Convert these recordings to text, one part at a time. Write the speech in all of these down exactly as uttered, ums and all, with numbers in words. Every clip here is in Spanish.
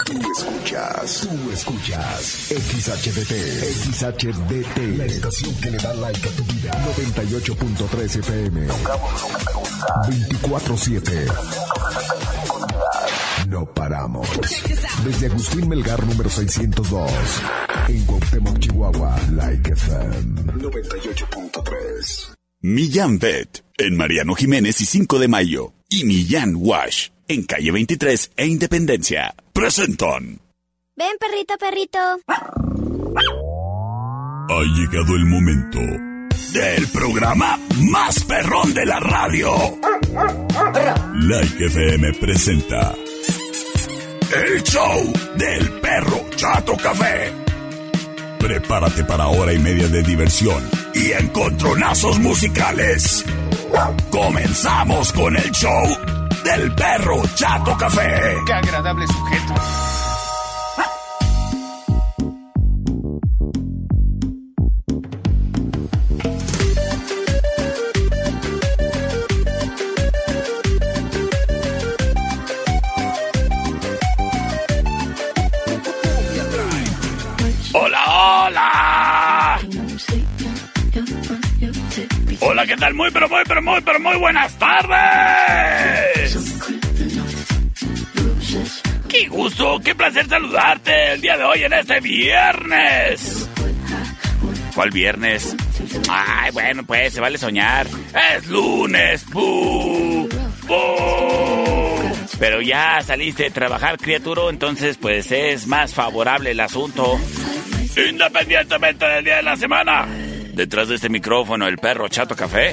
Tú escuchas, tú escuchas X H D T, X H D T, la estación que le da like a tu vida. noventa y ocho punto tres F M. Tocamos lo que te gusta. veinticuatro siete. No paramos. Desde Agustín Melgar número seiscientos dos. En Cuauhtémoc, Chihuahua, Like F M noventa y ocho punto tres. Millán Vet en Mariano Jiménez y cinco de mayo. Y Millán Wash en calle veintitrés e Independencia. Presentan. Ven, perrito, perrito. Ha llegado el momento del programa más perrón de la radio. Like F M presenta el show del perro Chato Café. Prepárate para hora y media de diversión y encontronazos musicales. Comenzamos con el show del perro Chato Café. ¡Qué agradable sujeto! ¡Hola, hola! Hola, ¿qué tal? Muy, pero muy, pero muy, pero muy buenas tardes. ¡Qué gusto, qué placer saludarte el día de hoy en este viernes! ¿Cuál viernes? Ay, bueno, pues, se vale soñar. ¡Es lunes! ¡Pú! ¡Pú! Pero ya saliste de trabajar, criatura, entonces, pues, es más favorable el asunto. Independientemente del día de la semana. Detrás de este micrófono, el perro Chato Café.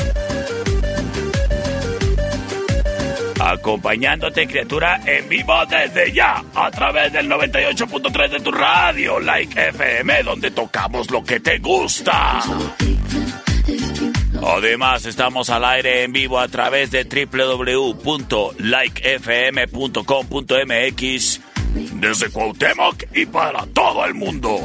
Acompañándote, criatura, en vivo desde ya, a través del noventa y ocho punto tres de tu radio, Like F M, donde tocamos lo que te gusta. Además, estamos al aire en vivo a través de doble u doble u doble u punto like f m punto com punto m x desde Cuauhtémoc y para todo el mundo.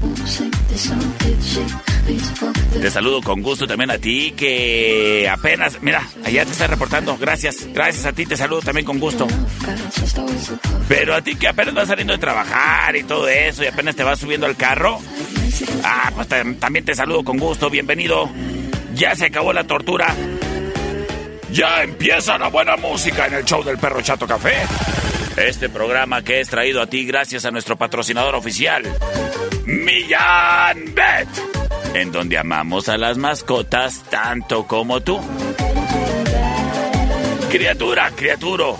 Te saludo con gusto también a ti que apenas, mira, allá te está reportando. Gracias, gracias a ti, te saludo también con gusto. Pero a ti que apenas vas saliendo de trabajar y todo eso y apenas te vas subiendo al carro, ah, pues t- también te saludo con gusto, bienvenido. Ya se acabó la tortura. Ya empieza la buena música en el show del perro Chato Café. Este programa que es traído a ti gracias a nuestro patrocinador oficial, Millán Vet, en donde amamos a las mascotas tanto como tú. Criatura, criaturo,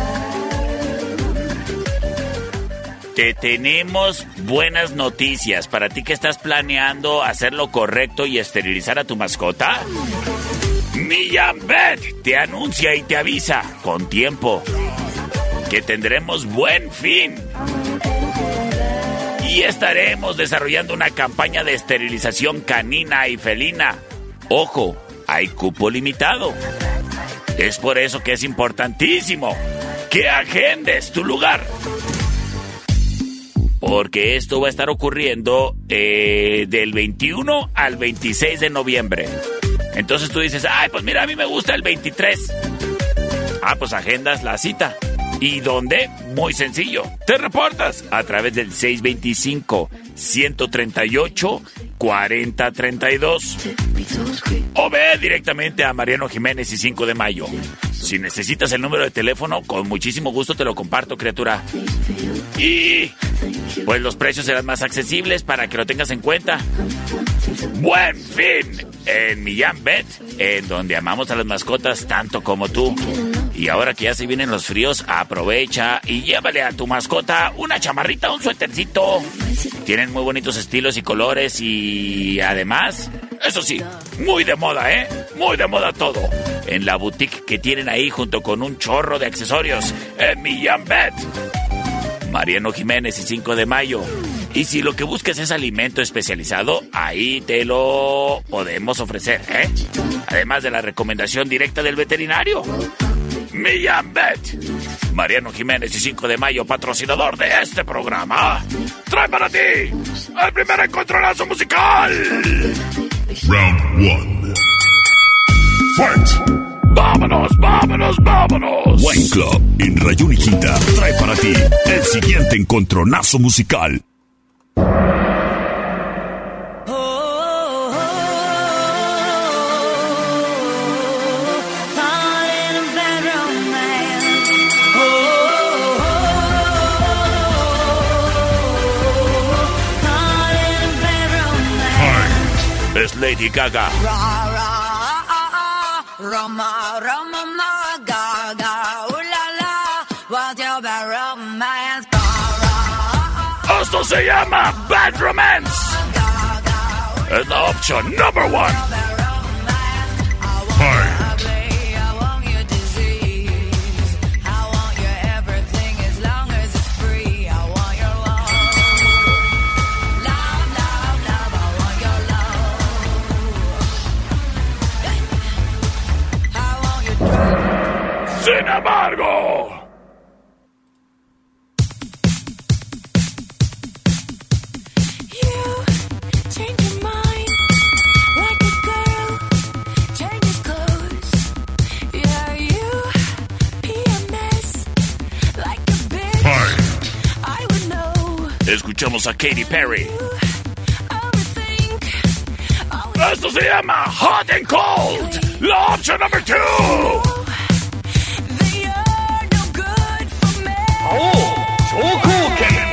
te tenemos buenas noticias para ti que estás planeando hacer lo correcto y esterilizar a tu mascota. Millán Vet te anuncia y te avisa con tiempo que tendremos buen fin y estaremos desarrollando una campaña de esterilización canina y felina. Ojo, hay cupo limitado. Es por eso que es importantísimo que agendes tu lugar, porque esto va a estar ocurriendo eh, del veintiuno al veintiséis de noviembre. Entonces tú dices, ay, pues mira, a mí me gusta el veintitrés. Ah, pues agendas la cita. ¿Y dónde? Muy sencillo. Te reportas a través del seis veinticinco, ciento treinta y ocho, cuarenta treinta y dos. O ve directamente a Mariano Jiménez y cinco de mayo. Si necesitas el número de teléfono, con muchísimo gusto te lo comparto, criatura. Y pues los precios serán más accesibles para que lo tengas en cuenta. Buen fin en Millán Vet, en donde amamos a las mascotas tanto como tú. Y ahora que ya se vienen los fríos, aprovecha y llévale a tu mascota una chamarrita, un suétercito. Tienen muy bonitos estilos y colores y además, eso sí, muy de moda, ¿eh? Muy de moda todo. En la boutique que tienen ahí junto con un chorro de accesorios en Millán Vet. Mariano Jiménez y cinco de mayo. Y si lo que buscas es alimento especializado, ahí te lo podemos ofrecer, ¿eh? Además de la recomendación directa del veterinario. Millán Vet. Mariano Jiménez y cinco de mayo, patrocinador de este programa, trae para ti el primer encontronazo musical. Round one. Fight. ¡Vámonos, vámonos, vámonos! Wine Club en Rayón y Quinta trae para ti el siguiente encontronazo musical. Es Lady Gaga. Esto se llama Bad Romance. Es la opción number one. Heart. Sin embargo, escuchamos a Katy Perry. Esto se llama Hot and Cold. La opción number two. Oh, so cool, Kevin.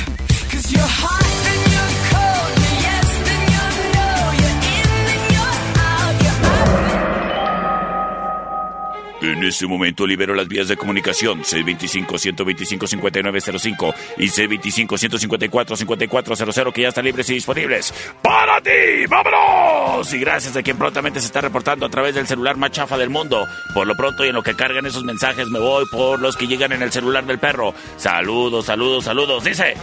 En este momento libero las vías de comunicación seis dos cinco, uno dos cinco, cinco nueve cero cinco y seis dos cinco, uno cinco cuatro, cinco cuatro cero cero que ya están libres y disponibles para ti. ¡Vámonos! Y gracias a quien prontamente se está reportando a través del celular más chafa del mundo. Por lo pronto y en lo que cargan esos mensajes me voy por los que llegan en el celular del perro. Saludos, saludos, saludos. Dice.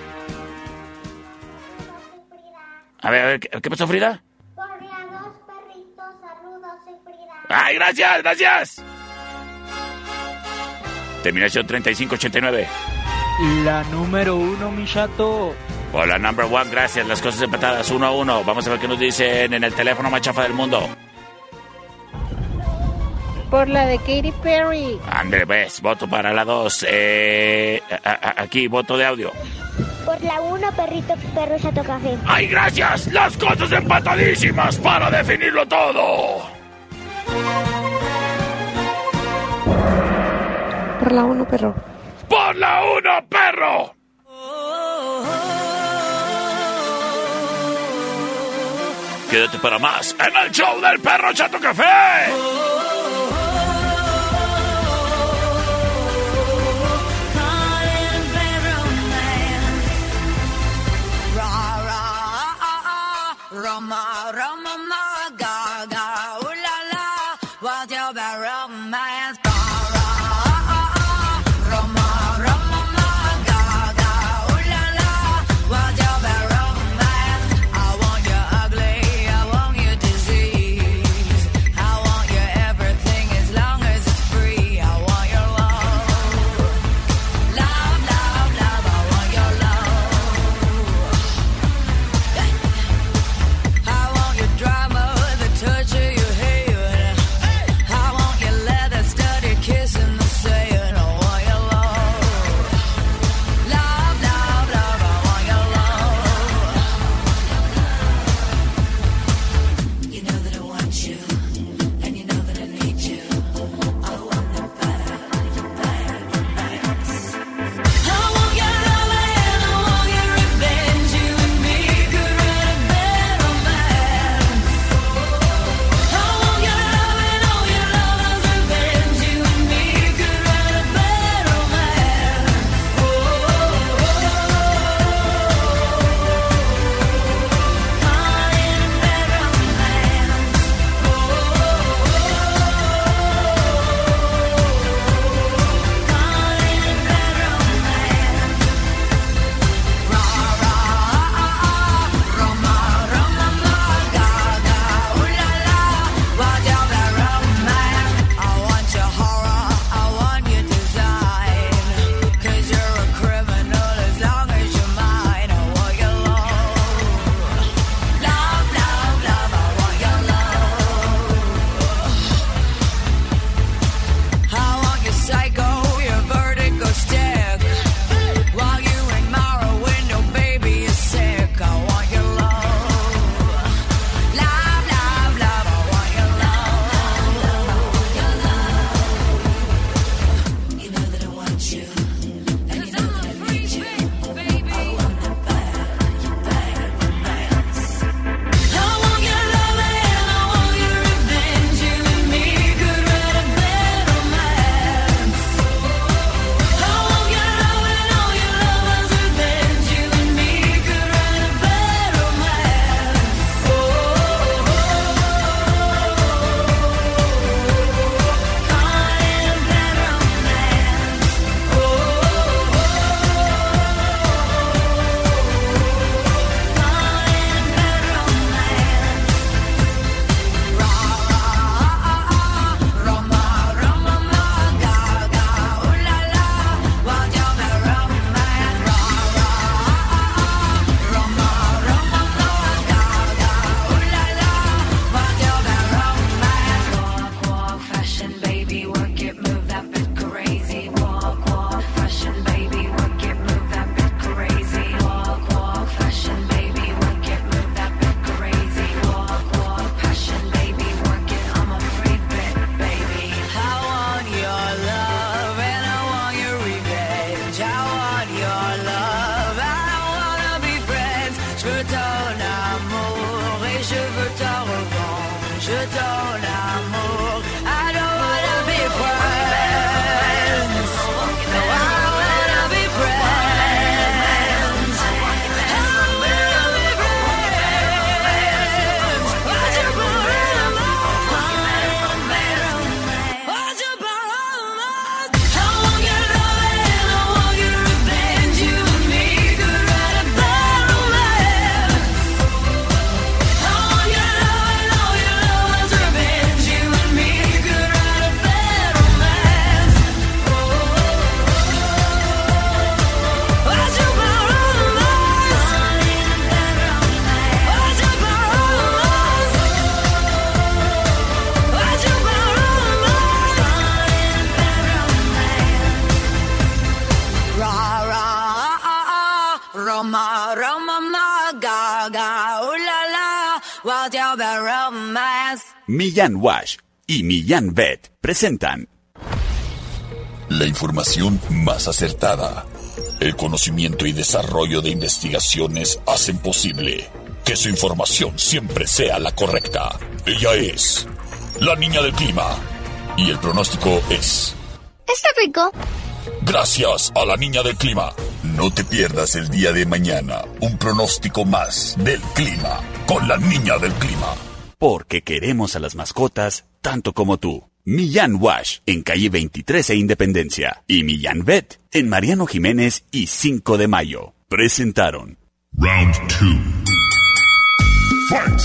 A ver, a ver, ¿qué pasó, Frida? Por la dos, perritos, saludos, soy Frida. ¡Ay, gracias, gracias! Terminación treinta y cinco ochenta y nueve. La número uno, mi chato. Por la number one, gracias. Las cosas empatadas, uno a uno. Vamos a ver qué nos dicen en el teléfono más chafa del mundo. Por la de Katy Perry. André, ves, voto para la dos. Eh, a, a, aquí, voto de audio. Por la uno, perrito, perro, chato, café. ¡Ay, gracias! Las cosas empatadísimas para definirlo todo. Por la uno, perro. ¡Por la uno, perro! Quédate para más en el show del Perro Chato Café. your love. I wanna be friends. Je veux ton amour et je veux ta revanche. Je ton amour. I don't wanna be friends. No, I wanna be friends. I wanna be friends. Why'd you put it on my mind? Why'd you put it on my mind? I want your love and I want your revenge. You and me could write a bad romance. I want your love and all your love is revenge. You and me could write a bad romance. Why'd you put it on my mind? Why'd you put it on my mind? Why'd you put it on my mind? Ra ra ah ah Roma Roma ma ga ga ooh la la what's your bad romance? Millán Wash y Millán Vet presentan la información más acertada. El conocimiento y desarrollo de investigaciones hacen posible que su información siempre sea la correcta. Ella es la niña del clima y el pronóstico es... Está rico. Gracias a la niña del clima. No te pierdas el día de mañana un pronóstico más del clima con la niña del clima. Porque queremos a las mascotas tanto como tú. Millán Wash en calle veintitrés e Independencia y Millán Vet en Mariano Jiménez y cinco de mayo. Presentaron Round two. Fight!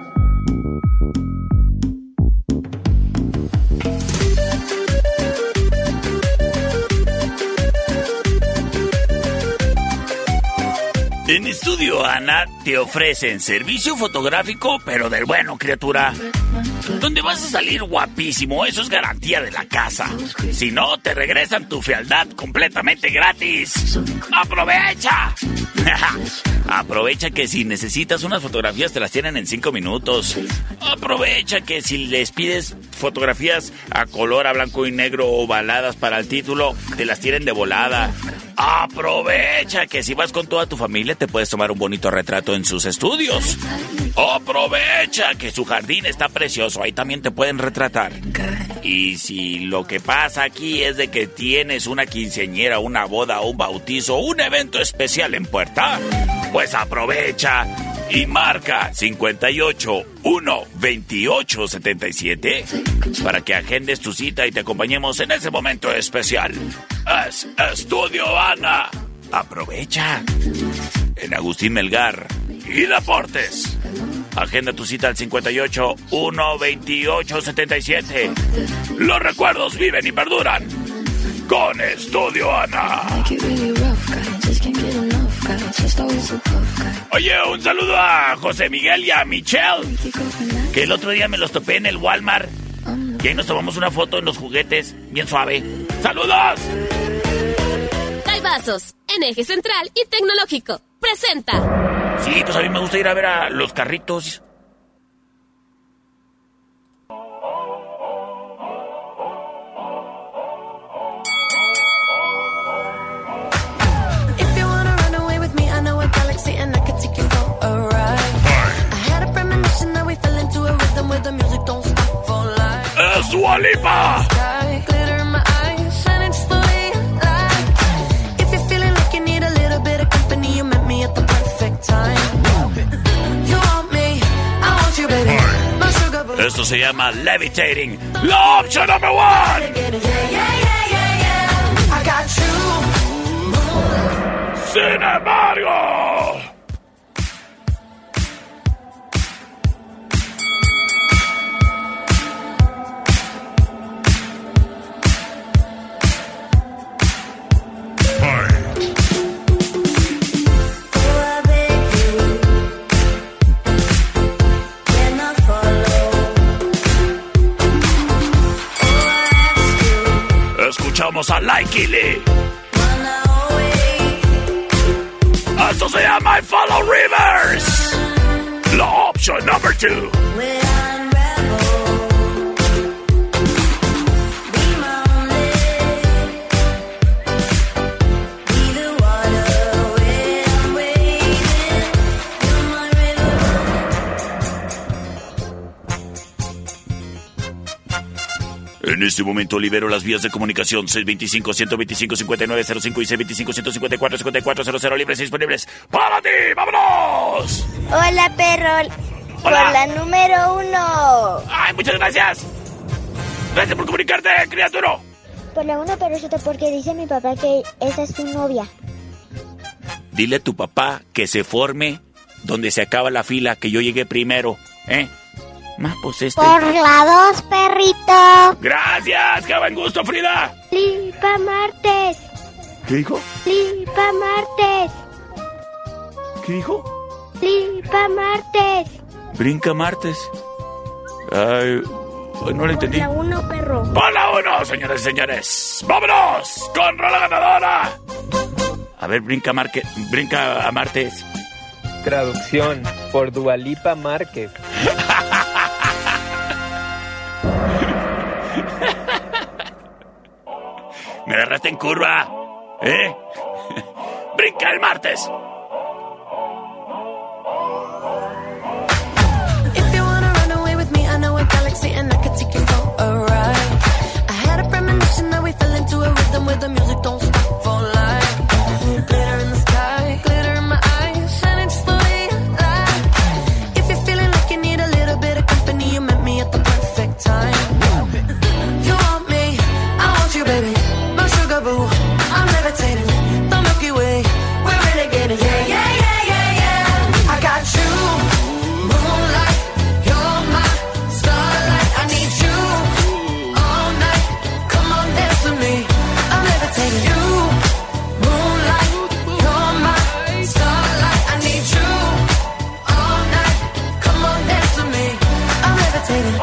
En Estudio Ana te ofrecen servicio fotográfico, pero del bueno, criatura. Donde vas a salir guapísimo, eso es garantía de la casa. Si no, te regresan tu fealdad completamente gratis. ¡Aprovecha! Aprovecha que si necesitas unas fotografías te las tienen en cinco minutos. Aprovecha que si les pides fotografías a color, a blanco y negro ovaladas para el título, te las tienen de volada. Aprovecha que si vas con toda tu familia te puedes tomar un bonito retrato en sus estudios. Aprovecha que su jardín está precioso, ahí también te pueden retratar. Y si lo que pasa aquí es de que tienes una quinceañera, una boda, un bautizo, un evento especial en puerta, pues aprovecha y marca cincuenta y ocho, uno, veintiocho, setenta y siete para que agendes tu cita y te acompañemos en ese momento especial. Es Estudio Ana. Aprovecha. En Agustín Melgar y Deportes. Agenda tu cita al cincuenta y ocho, uno, veintiocho, setenta y siete. Los recuerdos viven y perduran con Estudio Ana. Oye, un saludo a José Miguel y a Michelle, que el otro día me los topé en el Walmart. Y ahí nos tomamos una foto en los juguetes, bien suave. ¡Saludos! Vasos, en Eje Central y Tecnológico. Presenta. Sí, pues a mí me gusta ir a ver a los carritos. If you wanna run away with me, I know a galaxy and I can take you for a ride. I had a premonition that we fell into a rhythm where the music don't stop for life. ¡Es Dua Lipa! Sky, glitter in my eyes, shining just the way I like. If you're feeling like you need a little bit of company, you met me at the perfect time. You want me, I want you, baby. My sugar boo. Esto se llama Levitating, la opción number one. Yeah, yeah, yeah, yeah, yeah. I got you. Sin embargo, escuchamos a Likey Lee. Esto se llama I Follow Rivers. La opción number two. Be the water. En este momento libero las vías de comunicación seis dos cinco, uno dos cinco, cinco nueve cero cinco y seis dos cinco, uno cinco cuatro, cinco cuatro cero cero libres y disponibles para ti. ¡Vámonos! Hola, perro. Por Hola. la número uno. ¡Ay, muchas gracias! Gracias por comunicarte, criatura. Por la uno, perrito, porque dice mi papá que esa es su novia. Dile a tu papá que se forme donde se acaba la fila, que yo llegué primero, ¿eh? Más pues este... Por la dos, perrito. ¡Gracias! ¡Qué buen gusto, Frida! Lipa martes. ¿Qué dijo? Lipa martes. ¿Qué dijo? Lipa martes. Brinca martes. Ay, no lo entendí. La uno, perro. ¡Por la uno, señores y señores! ¡Vámonos! ¡Con rola ganadora! A ver, brinca, Marque... brinca a martes. Traducción por Dualipa Márquez. Me agarraste en curva, ¿eh? ¡Brinca el martes! If you wanna run away with me, I know a galaxy and I could take you for a ride. I had a premonition that we fell into a rhythm where the music don't stop for life. Glitter in the sky, glitter in my eyes, shining just the way I like. If you're feeling like you need a little bit of company, you met me at the perfect time. You want me, I want you, baby. My sugar boo, I'm levitating. The Milky Way, we're renegading. Yeah, yeah, yeah, yeah, yeah. I got you, moonlight. You're my starlight. I need you all night. Come on, dance with me. I'm levitating. You, moonlight. You're my starlight. I need you all night. Come on, dance with me. I'm levitating.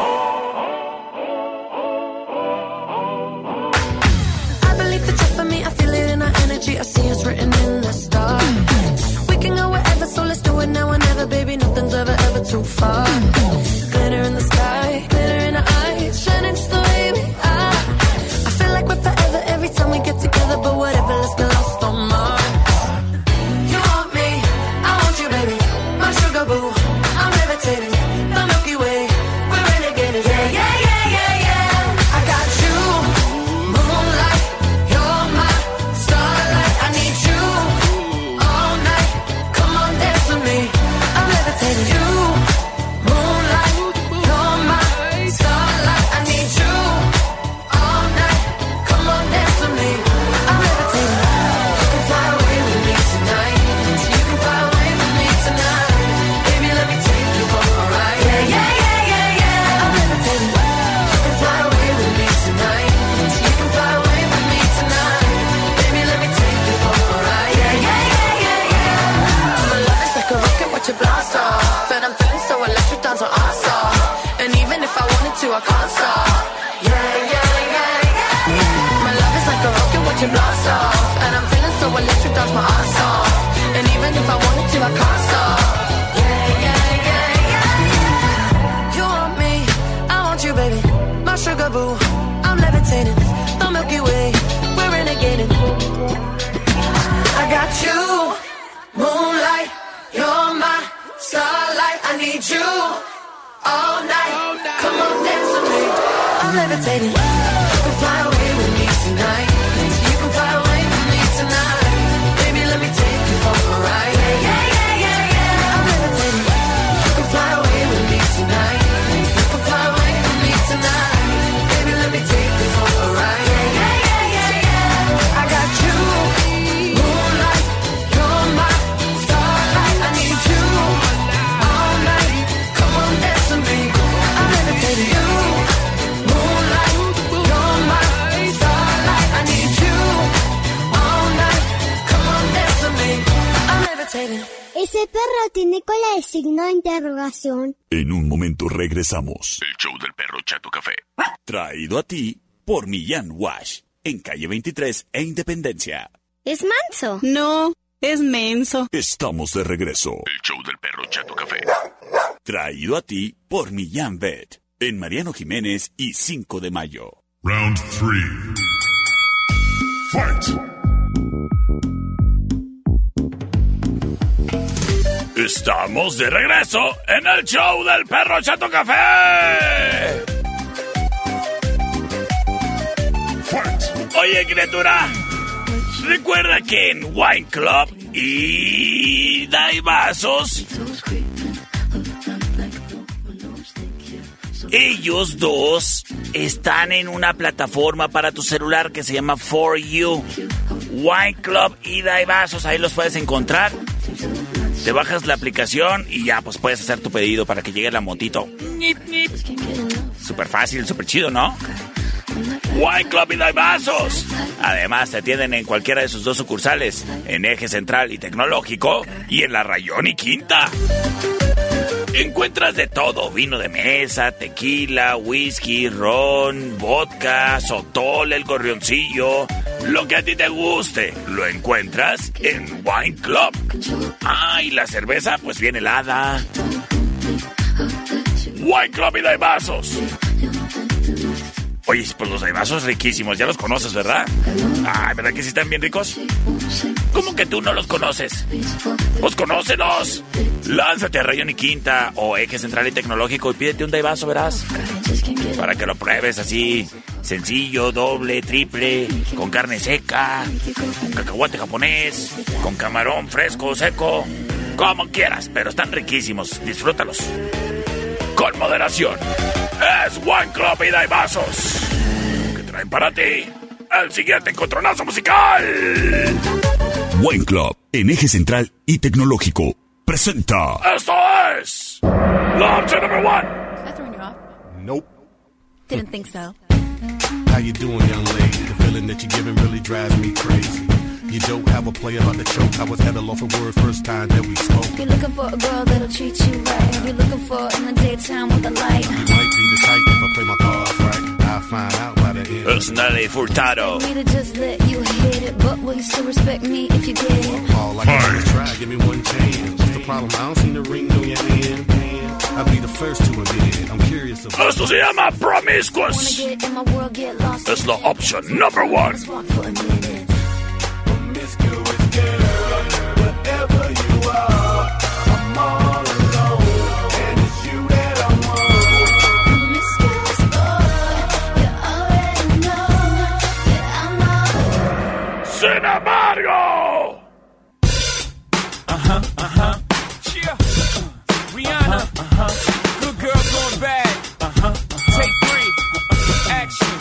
I believe that you're for me. I feel it in our energy. I see it's written in the stars. We can go wherever, so let's do it now or never, baby. Nothing's ever, ever too far. Glitter in the sky, glitter in our eyes, shining just the way we are. I feel like we're forever every time we get together, but whatever, let's get lost on Mars. You want me, I want you, baby. My sugar boo, I'm levitating. The Milky Way, we're renegading. Yeah, yeah, yeah, yeah, yeah. I got you, moonlight. You're my starlight. I need you all night. Come on, dance with me. I'm levitating. You, moonlight. You're my starlight. I need you all night. Come on, dance with me. I'm levitating. You can fly away with me tonight. You can fly away with me tonight. Baby, let me take you for a ride. Yeah, yeah, yeah, yeah, yeah. I'm levitating. You can fly away with me tonight. You can fly away with me tonight. Baby, let me take you for a ride. Yeah, yeah, yeah, yeah, yeah. My love is like a rocket, watch it blast off. And I'm feeling so electric, dance on awesome. And even if I wanted to, I can't stop. Yeah, yeah, yeah, yeah. My love is like a rocket, watch it blast off. And I'm feeling so electric, dance my ass off. And even if I wanted to, I can't stop. Yeah, yeah, yeah, yeah. You want me, I want you, baby. My sugar boo, I'm levitating. The Milky Way, we're renegading. I got you, moonlight. You're my starlight. I need you all night. Come on, dance with me. I'm levitating. You can fly away with me tonight. You can fly away with me tonight. Baby, let me take you for a ride. Yeah, yeah, yeah, yeah, yeah. I'm levitating. You can fly away with me tonight. You can fly away with me tonight. Baby, let me take you for a ride. Yeah, yeah, yeah, yeah, yeah. I got you, moonlight. You're my starlight. I need you all night. Come on, dance with me. I'm levitating. You, moonlight. You're my starlight. I need you all night. Come on, dance with me. I'm levitating. Ese perro tiene cola de signo de interrogación. En un momento regresamos. El show del perro Chato Café. Traído a ti por Millán Wash. En calle veintitrés e Independencia. ¿Es manso? No, es menso. Estamos de regreso. El show del perro Chato Café. Traído a ti por Millán Vet. En Mariano Jiménez y cinco de mayo. Round three. Fight. Estamos de regreso en el show del perro Chato Café. Oye, criatura, recuerda que en Wine Club y Daibazos, ellos dos están en una plataforma para tu celular que se llama For You. Wine Club y Daibazos, ahí los puedes encontrar. Te bajas la aplicación y ya pues puedes hacer tu pedido para que llegue la motito. Súper fácil, súper chido, ¿no? Wine Club y Daibazos. Además te atienden en cualquiera de sus dos sucursales, en Eje Central y Tecnológico y en la Rayón y Quinta. Encuentras de todo: vino de mesa, tequila, whisky, ron, vodka, sotol, el gorrioncillo. Lo que a ti te guste, lo encuentras en Wine Club. Ah, y la cerveza pues viene helada. Wine Club y Daibazos. Oye, pues los daibazos riquísimos, ya los conoces, ¿verdad? Ay, ¿verdad que sí están bien ricos? ¿Cómo que tú no los conoces? ¡Pues conócelos! Lánzate a Rayón y Quinta o Eje Central y Tecnológico y pídete un daibazo, verás. Para que lo pruebes así, sencillo, doble, triple, con carne seca, con cacahuate japonés, con camarón fresco, seco, como quieras, pero están riquísimos, disfrútalos. Con moderación. Es Wine Club y Daibazos, que traen para ti el siguiente encontronazo musical. Wine Club, en Eje Central y Tecnológico, presenta. Esto es la opción number one. Did I throw you off? Nope. Didn't think so. How you doing, young lady? The feeling that you're giving really drives me crazy. You don't have a play about the choke. I was at a loss for word first time that we spoke. You're looking for a girl that'll treat you right. You're looking for in the daytime with a light. You might be the type if I play my cards right. I'll find out by the end. Es Nelly Furtado. Me to just let you hit it, but will you still respect me if you get it? All I can do is try, give me one chance. What's the problem? I don't see the ring on your hand. I'll be the first to admit. I'm curious about. Esto se llama Wanna Promiscuous. get in my world, get lost. Es la opción number one. Just walk for a minute. Promiscuous girl, whatever you are, I'm all alone, and it's you that I want. Promiscuous boy, you already know that I'm all. Sin embargo. Uh-huh, uh-huh. Yeah. Rihanna. Uh-huh. Good girl going bad. Uh-huh. Take three. Action.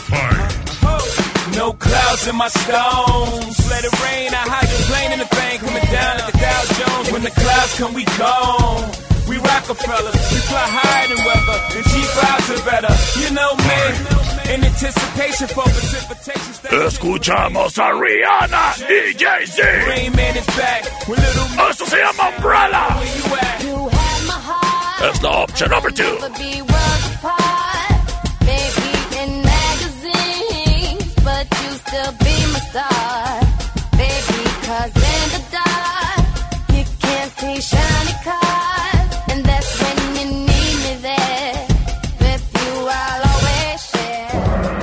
Oh. No clouds in my stones. Let it rain. I hydroplane in the thing. Coming down like the Dow Jones. When the clouds come, we gone. We Rockefeller. We fly higher than weather. And cheap vibes are better. You know me. In anticipation for precipitation. Escuchamos a Rihanna y Jay-Z. Rain Man is back. With little Esto se llama Umbrella. where you at? You had my heart. Es la opción number two. But be worlds apart. Maybe in magazines, but you still be my star. Baby, 'cause in the dark, you can't see shiny cars. And that's when you need me there. With you, I'll always share.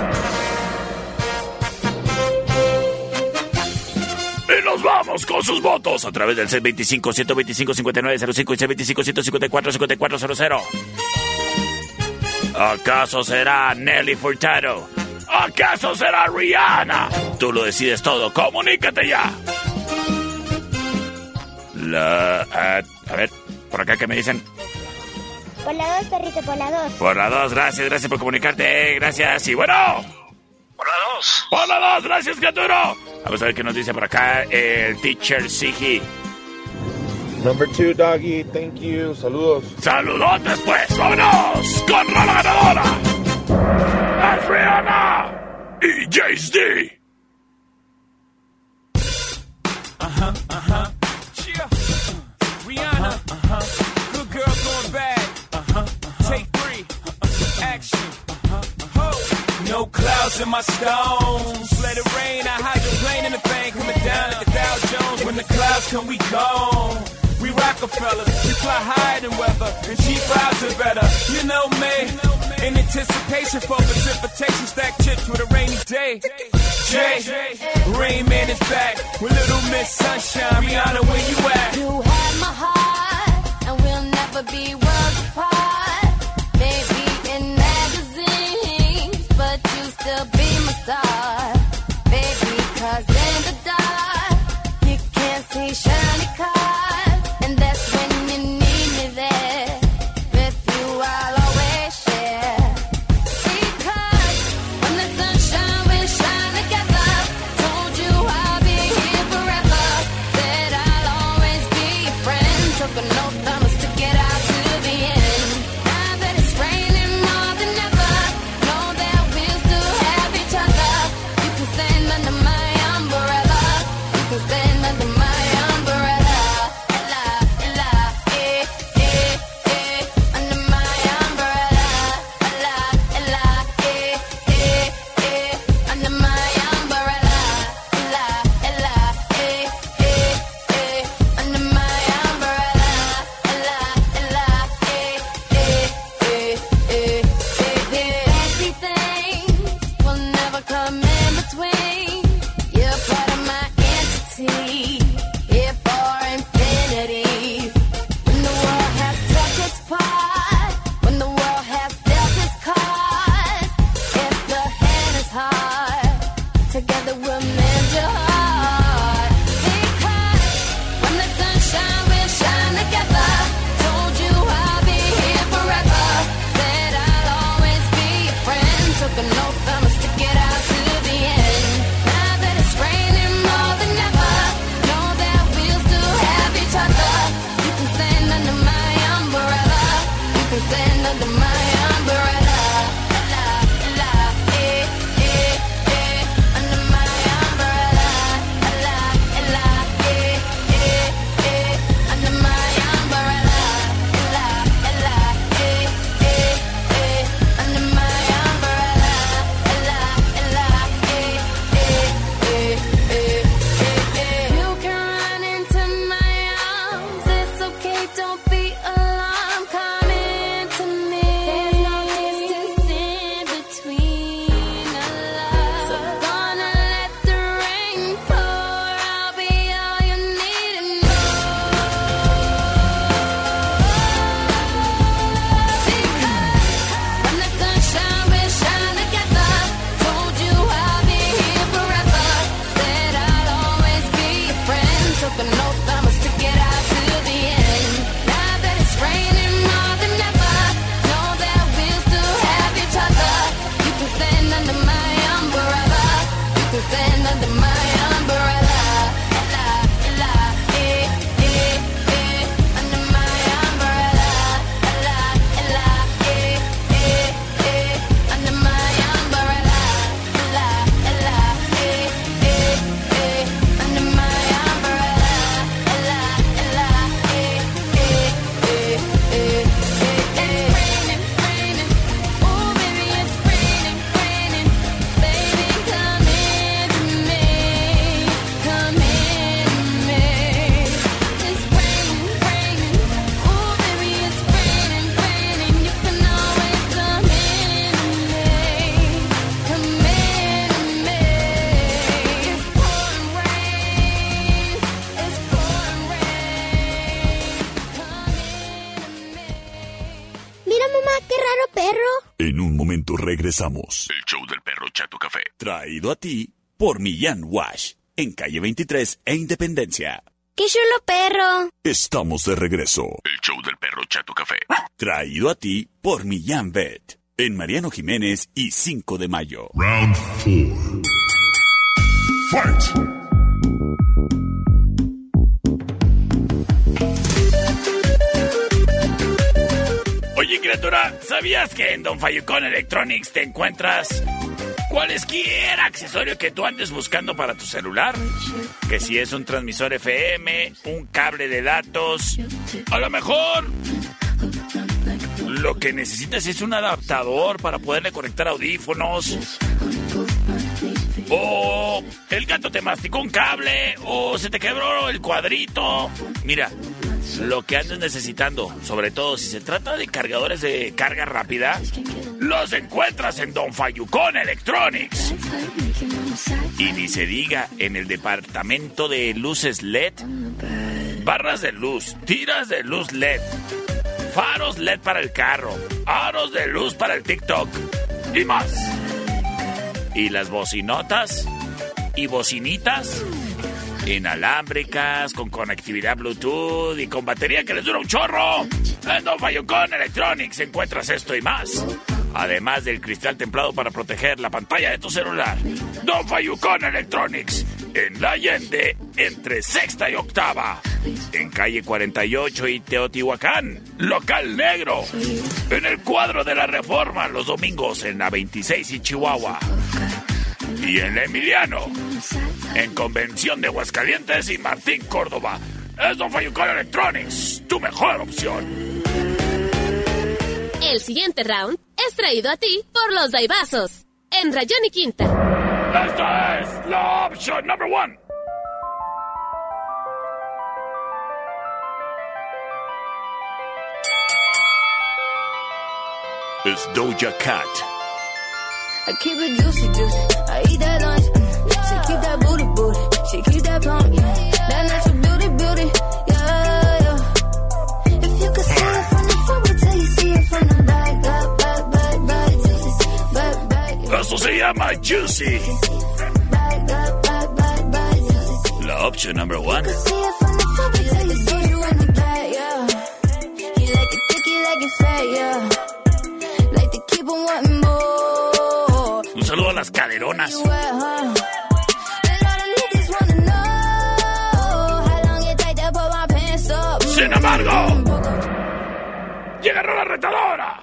Y nos vamos con sus votos a través del seis veinticinco, ciento veinticinco, cincuenta y nueve cero cinco y seis veinticinco, ciento cincuenta y cuatro, cincuenta y cuatro cero cero. ¿Acaso será Nelly Furtado? ¿Acaso será Rihanna? Tú lo decides todo. Comunícate ya. La... A, a ver, por acá, ¿qué me dicen? Por la dos, perrito, por la dos. Por la dos, gracias, gracias por comunicarte. Gracias, y bueno... Por la dos. Por la dos, gracias, criatura. Vamos a ver qué nos dice por acá el teacher Sigi. Number two, doggy. Thank you. Saludos. Saludos después. Vámonos con la ganadora. Es Rihanna y Jay-Z. Uh-huh, uh-huh. Yeah. Uh, Rihanna. Uh-huh. Good girl going bad. Uh-huh. uh-huh. Take three. Uh-uh. Action. Uh-huh. uh-huh. No clouds in my stones. Let it rain. I hydroplane in the thing. Coming down like the Dow Jones. When the clouds come, we gone. We Rockefeller. We fly higher than weather. And cheap vibes are better. You know me. In anticipation for precipitation. Stack chips with a rainy day. Jay, Rain Man is back with Little Miss Sunshine. Rihanna, where you at? You had my heart, and we'll never be worlds apart. Maybe in magazines, but you still be my star. Baby, cars, and that's when you need me there. With you, I'll always share. Because when the sunshine will shine together, told you I'll be here forever. Said I'll always be your friend. Took an oath I must stick it out to the end. Now that it's raining more than ever, know that we'll still have each other. You can stand under my umbrella. You can stand under my umbrella. Ella, ella, eh, eh, eh. Under my umbrella. Ella, ella, eh, eh, eh. Under my umbrella. Ella, ella, eh, eh, eh. Under my umbrella. Ella, ella, eh, eh, eh, eh, eh, eh. Fancy things will never come in between. You're part of my entity, here for infinity. When the world has touched its part, when the world has dealt its cards, if the hand is hard, together we'll mend your heart. Because when the sunshine will shine together, told you I'll be here forever. Said I'll always be your friend. Took an oath I must stick it out to the end. Now that it's raining more than ever, know that we'll still have each other. You can stand under my umbrella. You can stand under my umbrella. Ella, ella, eh, eh, eh. Under my umbrella. Ella, ella, eh, eh, eh. Under my umbrella. Ella, ella, eh, eh, eh. Under my umbrella. Ella, ella, eh, eh, eh, eh, eh, eh. You can run into my arms. It's okay, don't be alarmed. Come into me. There's no distance in between our love. So gonna let the rain pour. I'll be all you need and more. When the sunshine will shine together, told you I'll be here forever. Said I'll always be your friend. Took an oath I must stick it out to the end. Now that it's raining more than ever, know that we'll still have each other. You can stand under my umbrella. You can stand under my umbrella. Ella, ella, eh, eh, eh. Under my umbrella. Ella, ella, eh, eh, eh. Under my umbrella. Ella, ella, eh, eh, eh. Under my umbrella. Ella, ella, eh, eh, eh, eh, eh, eh. Raining, raining. Oh, baby, it's raining, raining. Baby, come into me. Come into me. It's raining, raining. Oh, baby, it's raining, raining. You can always come into me. Come into me. It's pouring rain. It's pouring rain. Mira, mamá, qué raro perro. En un momento regresamos. El show del perro Chato Café. Traído a ti por Millán Wash, en calle veintitrés e Independencia. ¡Qué chulo perro! Estamos de regreso. El show del perro Chato Café. Traído a ti por Millán Vet, en Mariano Jiménez y cinco de mayo. Round four. Fight! Oye, criatura, ¿sabías que en Don Fayucón Electronics te encuentras cualesquier accesorio que tú andes buscando para tu celular? Que si es un transmisor F M, un cable de datos, a lo mejor lo que necesitas es un adaptador para poderle conectar audífonos. O el gato te masticó un cable, o se te quebró el cuadrito. Mira, lo que andes necesitando, sobre todo si se trata de cargadores de carga rápida, los encuentras en Don Fayucón Electronics. Y ni se diga en el departamento de luces L E D, barras de luz, tiras de luz L E D, faros L E D para el carro, aros de luz para el TikTok y más. Y las bocinotas y bocinitas inalámbricas, con conectividad Bluetooth y con batería que les dura un chorro. En Don Fayucón Electronics encuentras esto y más. Además del cristal templado para proteger la pantalla de tu celular. Don Fayucón Electronics, en La Allende, entre Sexta y Octava. En calle cuarenta y ocho y Teotihuacán, local negro. En el cuadro de la Reforma, los domingos en la veintiséis y Chihuahua. Y en la Emiliano, en Convención de Aguascalientes y Martín Córdoba. Es Don Fayucón Electronics, tu mejor opción. El siguiente round es traído a ti por los Daibazos, en Rayón y Quinta. Esta es la opción number one. Es Doja Cat. I keep it juicy, juicy. I eat that lunch. She keep that booty, booty. She keep that plump. That natural beauty, beauty. Yeah, yeah. If you could see it from the front, wait till you see it from the back. Back, back, back, back, juicy. Back, back. Esto se llama Juicy. Back, back, back, back, back, juicy. La opción number one. You see it from the front, wait till you see it from the back, yeah. You like it thick, you like it fat, yeah. Like to keep on wanting more. Un saludo a las caderonas. Sin embargo, llega la retadora.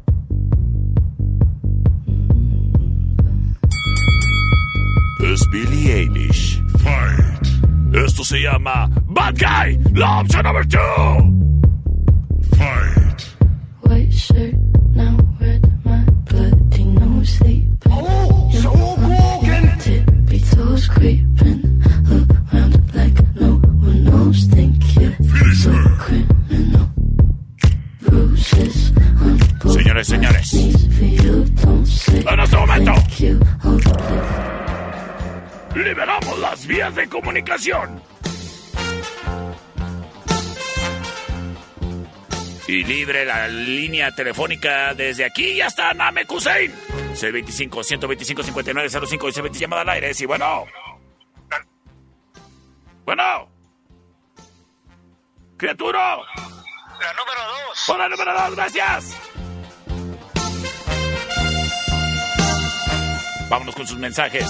Es Billie Eilish. Fight. Esto se llama Bad Guy. La opción number two. Fight. White shirt, now red, my bloody nose sleep. Oh, so broken. Tippy toes creeping around like no one knows. Think you're so criminal. Bruises on both Señores, señores, for you, don't say en este momento thank you. Oh, liberamos las vías de comunicación. Y libre la línea telefónica desde aquí y hasta Namekusein. seis veinticinco, ciento veinticinco, cincuenta y nueve cero cinco y se veinte llamada al aire. Sí, bueno. Bueno. Criatura. La número dos. Por la número dos, gracias. Vámonos con sus mensajes.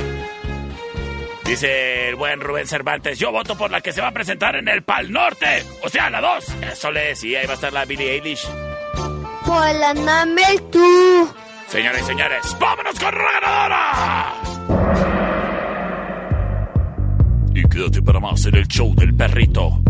Dice el buen Rubén Cervantes, yo voto por la que se va a presentar en el Pal Norte. O sea, la dos. Eso le decía, ahí va a estar la Billie Eilish. Por la Namel tú. Señores y señores, vámonos con la ganadora. Y quédate para más en el show del perrito.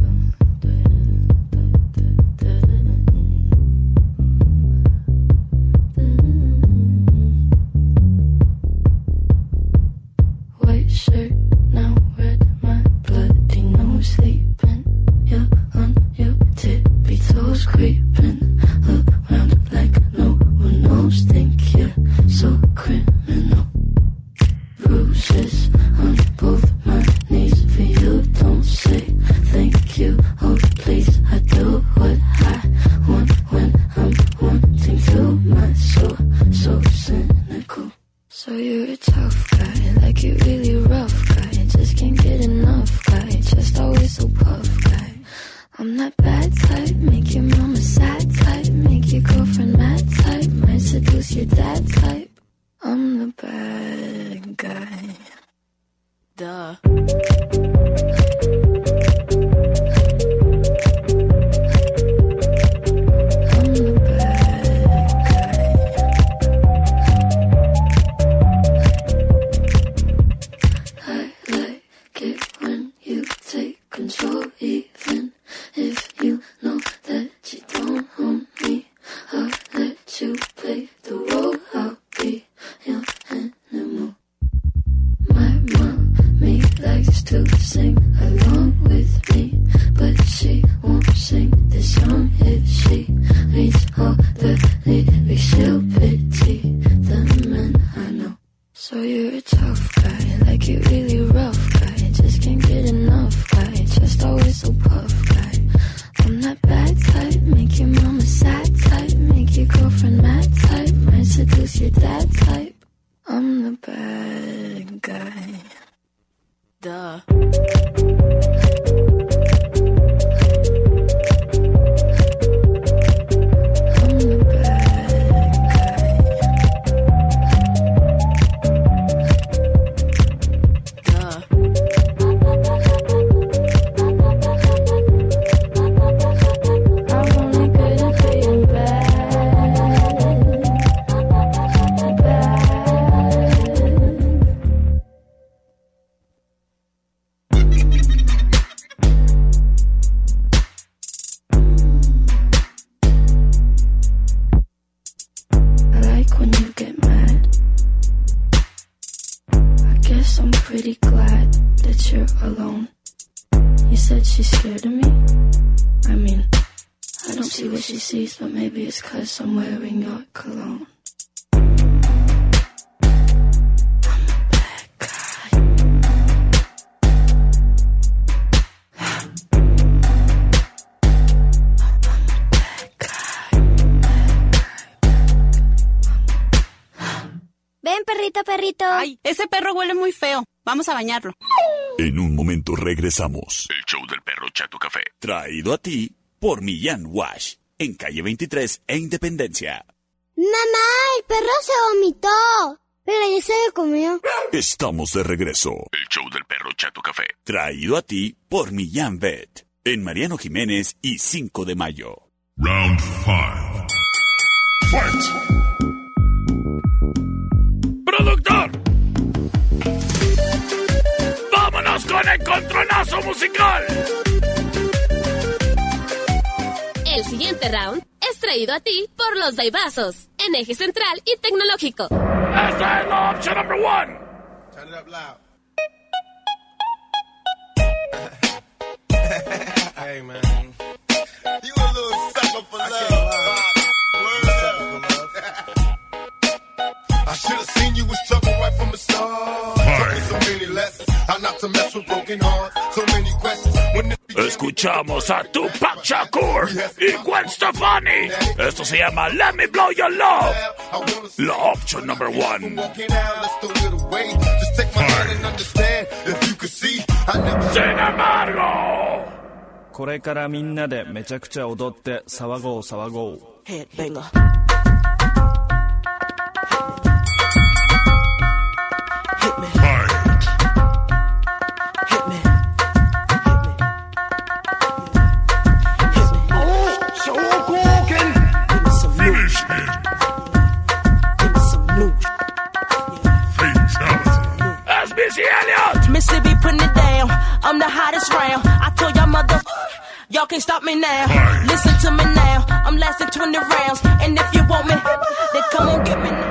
white shirt, now red, my bloody nose sleeping. You're on your tippy toes creeping around like no one knows. Think you're so criminal. Bruises on both my knees for you. Don't say thank you. Oh please, I do what I want when I'm wanting to. My soul so cynical. So you're a tough guy, like you really rough guy. Just can't get enough guy, just always so puff guy. I'm that bad type, make your mama sad type, make your girlfriend mad type, might seduce your dad type. I'm the bad guy. Duh. Control, even if you know that you don't own me. I'll let you play the role. I'll be your animal. My mommy likes to sing along with me, but she won't sing this song if she reads all the lyrics. She'll pity the men I know. So you're a tough guy, like you really rough guy. Just can't get enough guy, just always so puff guy. I'm that bad type, make your mama sad type, make your girlfriend mad type, might seduce your dad type. I'm the bad guy. Duh. she's scared of me. I mean, I don't see what she sees, but maybe it's 'cause I'm wearing your cologne. Ven, perrito, perrito. Ay, ese perro huele muy feo. Vamos a bañarlo. En un momento regresamos. El show del perro Chato Café. Traído a ti por Millán Wash. En calle veintitrés e Independencia. Mamá, el perro se vomitó. Pero ya se lo comió. Estamos de regreso. El show del perro Chato Café. Traído a ti por Millán Vet. En Mariano Jiménez y cinco de mayo. Round five. Fight! ¡Productor! ¡Vámonos con el controlazo musical! El siguiente round es traído a ti por los Daibazos, en Eje Central y Tecnológico. ¡Esta es la opción number one! Turn it up loud. Hey, man. You a little sucker for love. Word up. I should have seen you was trouble right from the start. Taught me so many lessons. How not to mess with broken hearts. So many questions. When it Escuchamos a Tupac Shakur y Gwen Stefani. Esto se llama Let Me Blow Your Love. La opción number one. Sin embargo, これからみんなでめちゃくちゃ踊って騒ごう騒ごう。 Headbanger. Mississippi putting it down. I'm the hottest round. I told y'all mother, y'all can't stop me now. Listen to me now. I'm lasting twenty rounds. And if you want me, then come on get me now.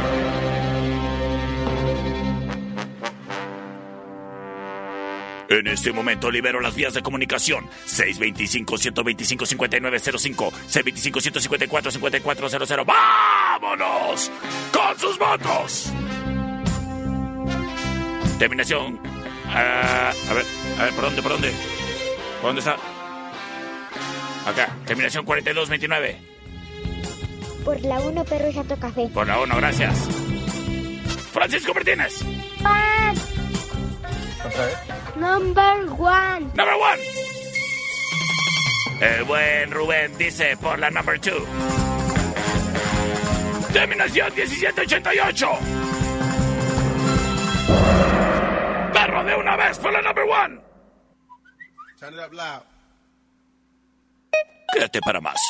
en este momento libero las vías de comunicación. seis dos cinco, uno dos cinco, cinco nueve cero cinco, seis dos cinco, uno cinco cuatro, cinco cuatro cero cero. ¡Vámonos con sus votos! Terminación. Uh, a ver, a ver, ¿por dónde, por dónde? ¿Por dónde está? Acá, terminación cuarenta y dos veintinueve. Por la uno, Perro Chato Café. Por la uno, gracias. Francisco Martínez. Pan. Number one. Number one. El buen Rubén dice por la number two. Terminación diecisiete ochenta y ocho. Perro de una vez por la number one. Turn it up loud. Quédate para más.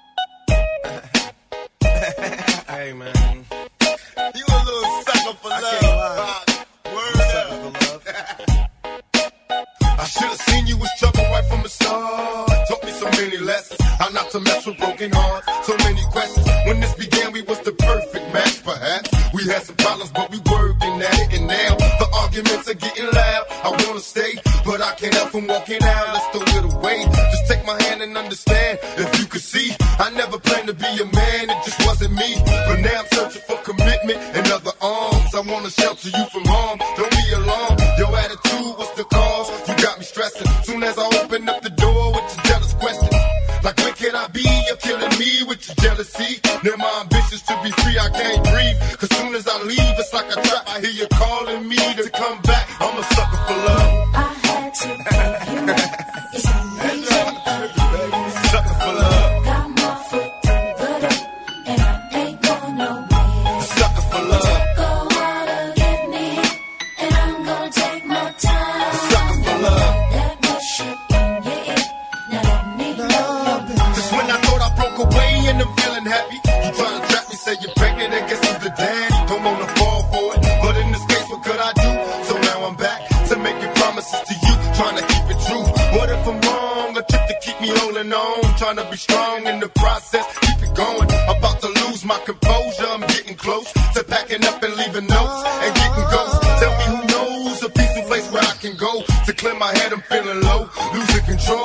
Hey, man. You a little sucker for love. Word up. I should have seen you was trouble right from the start. Taught me so many lessons. How not to mess with broken hearts. So many questions. When this began, we was the perfect match, perhaps. We had some problems, but we working at it. And now the arguments are getting loud. I wanna stay, but I can't help from walking out. Let's throw it away. Just take my hand and understand. If you could see, I never planned to be a man. It just wasn't me. But now I'm searching for commitment and other arms. I wanna shelter you from harm. Don't be alarmed. Your attitude was the cause. You got me stressing. Soon as I open up the door with your jealous questions. Like, when can I be? You're killing me with your jealousy. Now my ambitions to be free, I can't breathe. Cause soon as I leave, it's like a trap. I hear you calling me to come back. I'm a sucker for love. I had to give you up. It's amazing. Sucker for love. Got my foot through the door, and I ain't going nowhere. Sucker for love. Go out to get me, and I'm gonna take my time. Sucker for love. That rush up in your ear. Now let me know your mind. Just when I thought I broke away and I'm feeling happy, you trying to trap me, say you're pregnant and guess who's the daddy? Don't wanna fall for it, but in this case, what could I do? So now I'm back to making promises to you, trying to keep it true. What if I'm wrong? A trip to keep me holding on, trying to be strong in the process, keep it going. About to lose my composure, I'm getting close to packing up and leaving notes and getting ghosts. Tell me who knows a peaceful place where I can go to clear my head. I'm feeling low, losing control.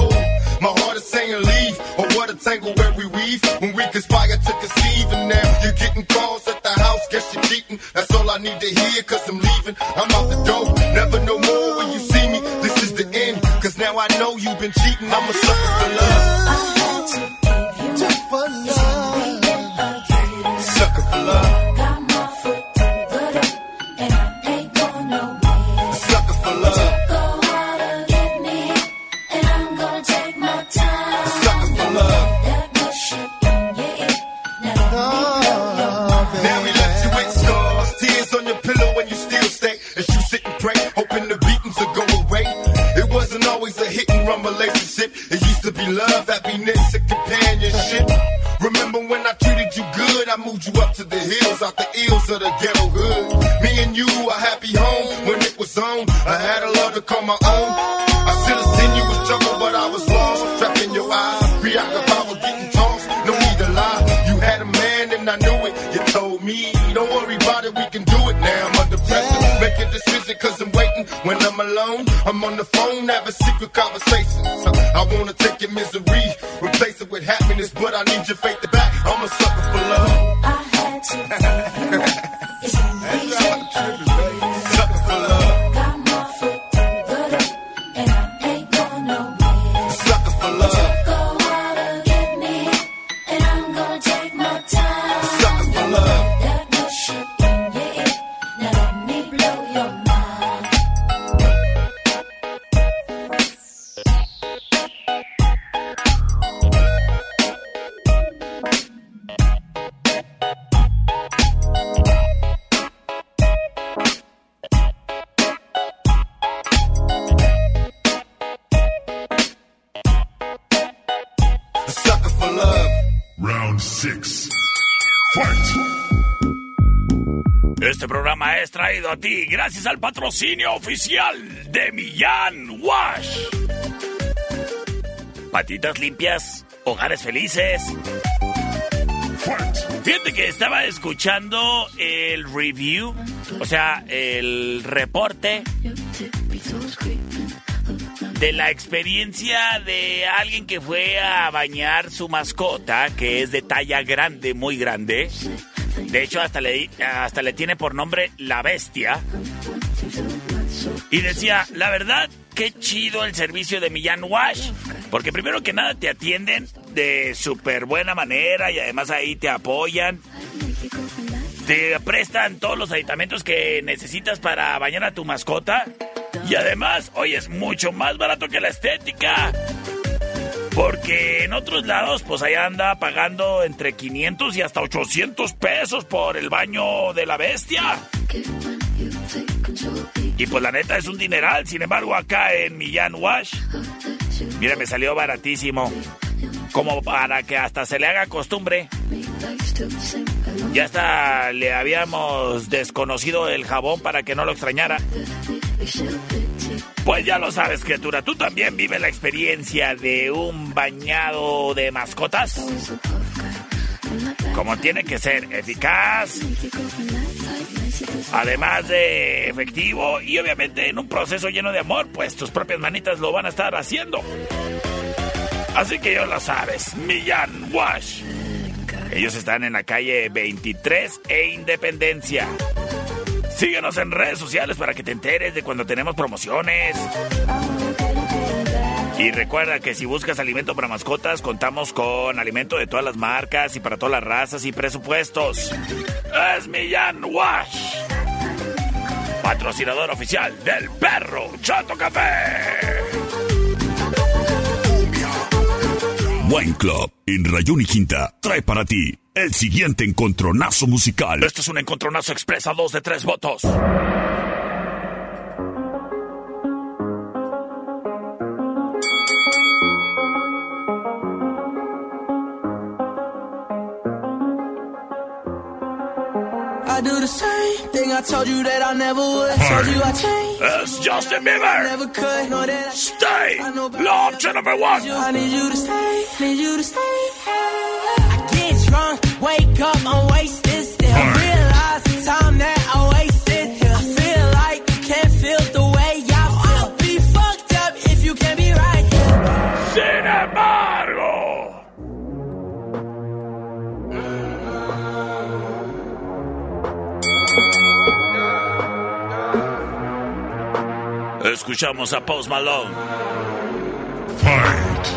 started saying leave, or what a tangle where we weave, when we conspire to conceive, and now you're getting calls at the house, guess you're cheating, that's all I need to hear, cause I'm leaving, I'm out the door, never no more when you see me, this is the end, cause now I know you've been cheating, I'm a sucker for love. I had to give you for love. Sucker for love. Got my foot through the door, and I ain't going nowhere. Sucker for love. Go out and get me, and I'm gonna take my time. Sucker for love. That good shit in your ear. Now let me blow your mind. Now we left you with scars, tears on your pillow when you still stay, as you sit and pray, hoping the beatings will go away. It wasn't always a hit and run relationship. It used to be love, happiness, and companionship. Remember when I treated you good? I moved you up to the hills, out the ills of the ghetto hood. Me and you, a happy home when it was on. I had a love to call my own. I should have seen you was trouble, but I was lost. Trapped in your eyes, preoccupied with getting tossed. No need to lie, you had a man and I knew it. You told me, don't worry about it, we can do it now. I'm under pressure, make a decision cause I'm waiting. When I'm alone, I'm on the phone, having secret conversations. I wanna take your misery, replace it with happiness, but I need your faith to back. I'm a sucker for love. I had to give you. It's a reason again. Sucker for love. Got my foot through the door, and I ain't going nowhere. Sucker for love. Go out and get me, and I'm gonna take my time. Sucker for love. That good shit in your ear. Now let me blow your mind. Sucker for love. Round six. Fight! Este programa es traído a ti gracias al patrocinio oficial de Millán Wash. Patitas limpias, hogares felices. Fíjate que estaba escuchando el review, o sea, el reporte de la experiencia de alguien que fue a bañar su mascota, que es de talla grande, muy grande. De hecho, hasta le, hasta le tiene por nombre La Bestia. Y decía, la verdad, qué chido el servicio de Millán Wash. Porque primero que nada te atienden de súper buena manera y además ahí te apoyan. Te prestan todos los aditamentos que necesitas para bañar a tu mascota. Y además, oye, es mucho más barato que la estética. Porque en otros lados, pues allá anda pagando entre quinientos y hasta ochocientos pesos por el baño de La Bestia. Y pues la neta es un dineral. Sin embargo, acá en Millán Wash, mira, me salió baratísimo. Como para que hasta se le haga costumbre. Ya hasta le habíamos desconocido el jabón para que no lo extrañara. Pues ya lo sabes, criatura, tú también vives la experiencia de un bañado de mascotas. Como tiene que ser, eficaz, además de efectivo y obviamente en un proceso lleno de amor, pues tus propias manitas lo van a estar haciendo. Así que ya lo sabes, Millán Wash. Ellos están en la calle veintitrés e Independencia. Síguenos en redes sociales para que te enteres de cuando tenemos promociones. Y recuerda que si buscas alimento para mascotas, contamos con alimento de todas las marcas y para todas las razas y presupuestos. Es Millán Wash, patrocinador oficial del Perro Chato Café. Wine Club en Rayón y Quinta trae para ti el siguiente encontronazo musical. Esto es un encontronazo expresa dos de tres votos. I do the same thing I told you that I never would. Told you I changed. Es Justin Bieber. Never could. Know that I Stay. La option number one. I need you to stay. Need you to stay. I get drunk, wake up, I'm wasted still. Realize the time that I wasted here. I feel like you can't feel the way I feel. I'll be fucked up if you can't be right here. Cinema. Escuchamos a Post Malone. Fight.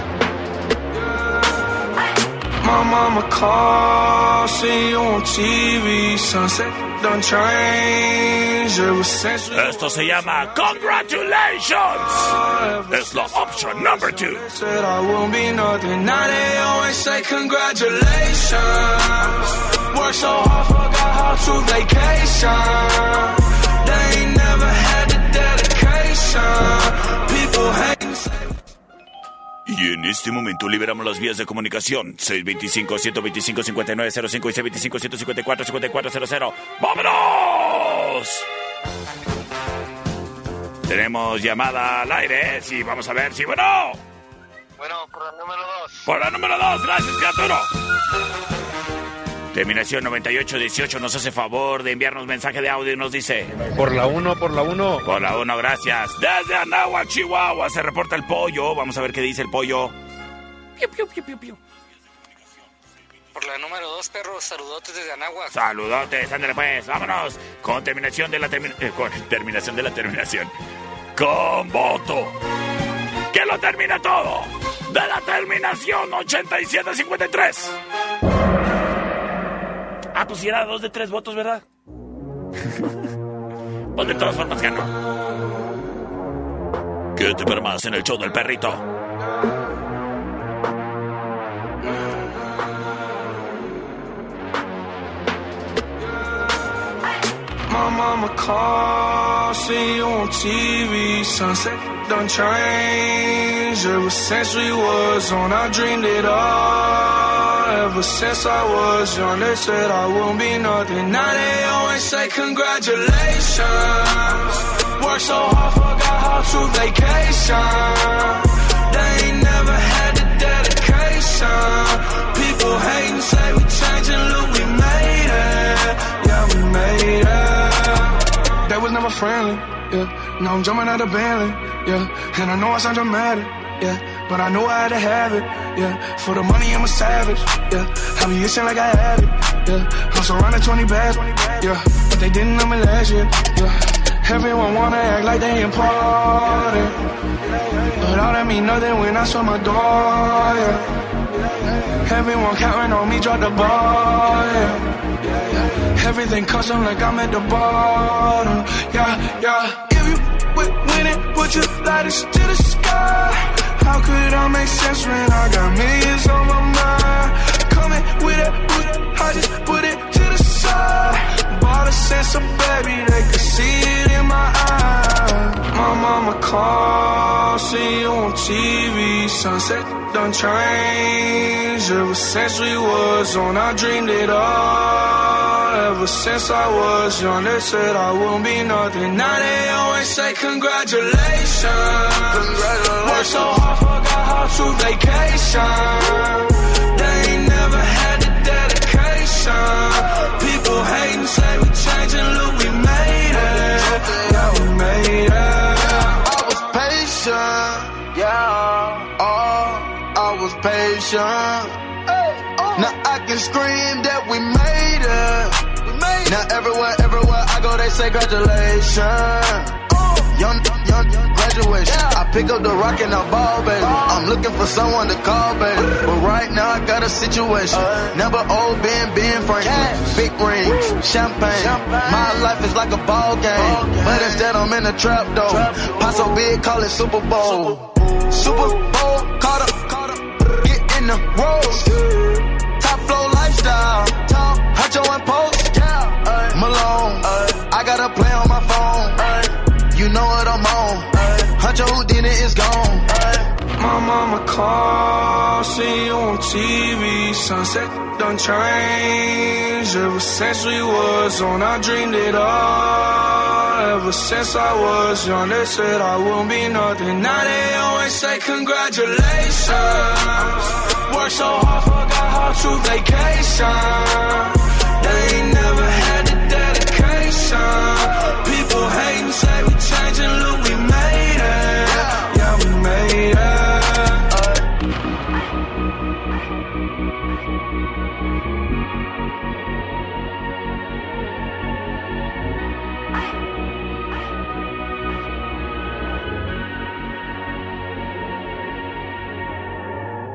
My mama called, see you on T V, sunset done change ever since we Esto se llama Congratulations. Es la option number two. said I won't be nothing. Now they always say congratulations. Worked so hard, forgot how to vacation. They ain't never had the dedication. People hating, say Y en este momento liberamos las vías de comunicación. seis dos cinco, uno dos cinco, cinco nueve cero cinco y seis dos cinco, uno cinco cuatro, cinco cuatro cero cero. ¡Vámonos! Tenemos llamada al aire. Sí, vamos a ver si... ¡Bueno! Bueno, por la número dos. Por la número dos. Gracias, criatura. Terminación noventa y ocho dieciocho nos hace favor de enviarnos mensaje de audio y nos dice... Por la uno, por la uno. Por la uno, gracias. Desde Anáhuac, Chihuahua, se reporta el pollo. Vamos a ver qué dice el pollo. Piu, piu, piu, piu, piu. Por la número dos, perros, saludotes desde Anáhuac. Saludotes, ándale pues, vámonos. Con terminación de la termi- eh, con terminación de la terminación. Con voto. Que lo termina todo. De la terminación ochenta y siete cincuenta y tres. Ah, pues si era dos de tres votos, ¿verdad? Pues de todas formas ganó. ¿Qué te permas en el show del perrito? my mama called, see you on T V, sunset done changed. Ever since we was on, I dreamed it all. Ever since I was young, they said I won't be nothing. Now they always say congratulations. Worked so hard, forgot how to vacation. They ain't never had the dedication. People hating, say we changing, look, we made it. Yeah, we made it. That was never friendly, yeah. Now I'm jumping out of Bentley, yeah. And I know I sound dramatic, yeah. But I know I had to have it, yeah. For the money, I'm a savage, yeah. I be itching like I had it, yeah. I'm surrounded twenty bags, yeah. But they didn't know me last year, yeah. Everyone wanna act like they important, but all that mean nothing when I saw my door, yeah. Everyone counting on me, drop the ball, yeah. Everything custom like I'm at the bottom, yeah, yeah. If you w- win it, put your lighters to the sky. How could I make sense when I got millions on my mind? Coming with it, with it, I just put it to the side. Bought a sense of baby, they could see it in my eyes. My mama called, see you on T V, sunset done changed. Ever since we was on, I dreamed it all. Ever since I was young, they said I won't be nothing. Now they always say congratulations. Congratulations. Worked so hard, forgot how to vacation. They ain't never had the dedication. People hating, say we changing, look, we made it. Yeah, we made it. I was patient, yeah. Oh, I was patient. Now I can scream that we made it. Now everywhere, everywhere I go, they say congratulations. Young, young, graduation. I pick up the rock and I ball, baby. I'm looking for someone to call, baby. But right now I got a situation. Never old Ben, Ben Franklin. Big rings, champagne. My life is like a ball game. But instead I'm in a trap, though. Pot so big, call it Super Bowl. Super Bowl, caught up, caught up. Get in the rolls. Top flow lifestyle. Huncho and Post. Malone. I got a play on my phone. You know what I'm on. Huncho Houdini is gone. My mama called, see you on T V, sunset done changed. Ever since we was on, I dreamed it all. Ever since I was young, they said I won't be nothing. Now they always say congratulations. Worked so hard, forgot how to vacation. They ain't never had the dedication. People hating, say we changing, look, we made it. Yeah, we made it.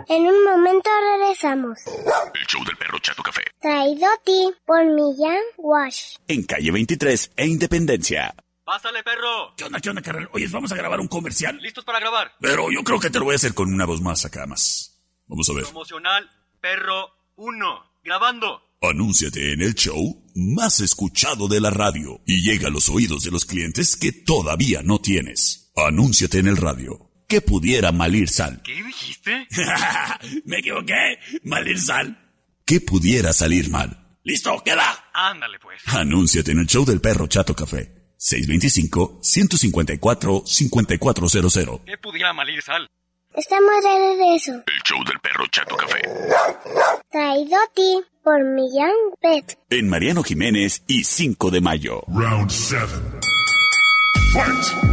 En un momento regresamos. El show del perro Chato Café. Traído a ti por Millán Wash. En calle veintitrés e Independencia. ¡Pásale, perro! ¿Qué onda, qué onda, carnal? Oye, ¿vamos a grabar un comercial? ¿Listos para grabar? Pero yo creo que te lo voy a hacer con una voz más acá, más. Vamos a ver. Promocional Perro uno. Grabando. Anúnciate en el show más escuchado de la radio y llega a los oídos de los clientes que todavía no tienes. Anúnciate en el radio. Que pudiera malir sal. ¿Qué dijiste? Me equivoqué. Malir sal. Que pudiera salir mal. ¿Listo? ¿Queda? Ándale, pues. Anúnciate en el show del perro Chato Café. seis dos cinco, uno cinco cuatro, cinco cuatro cero cero. ¿Qué pudiera malir sal? Estamos de regreso. El show del perro Chato Café. Traído a ti por Millán Pet. En Mariano Jiménez y cinco de mayo. Round seven. Fight!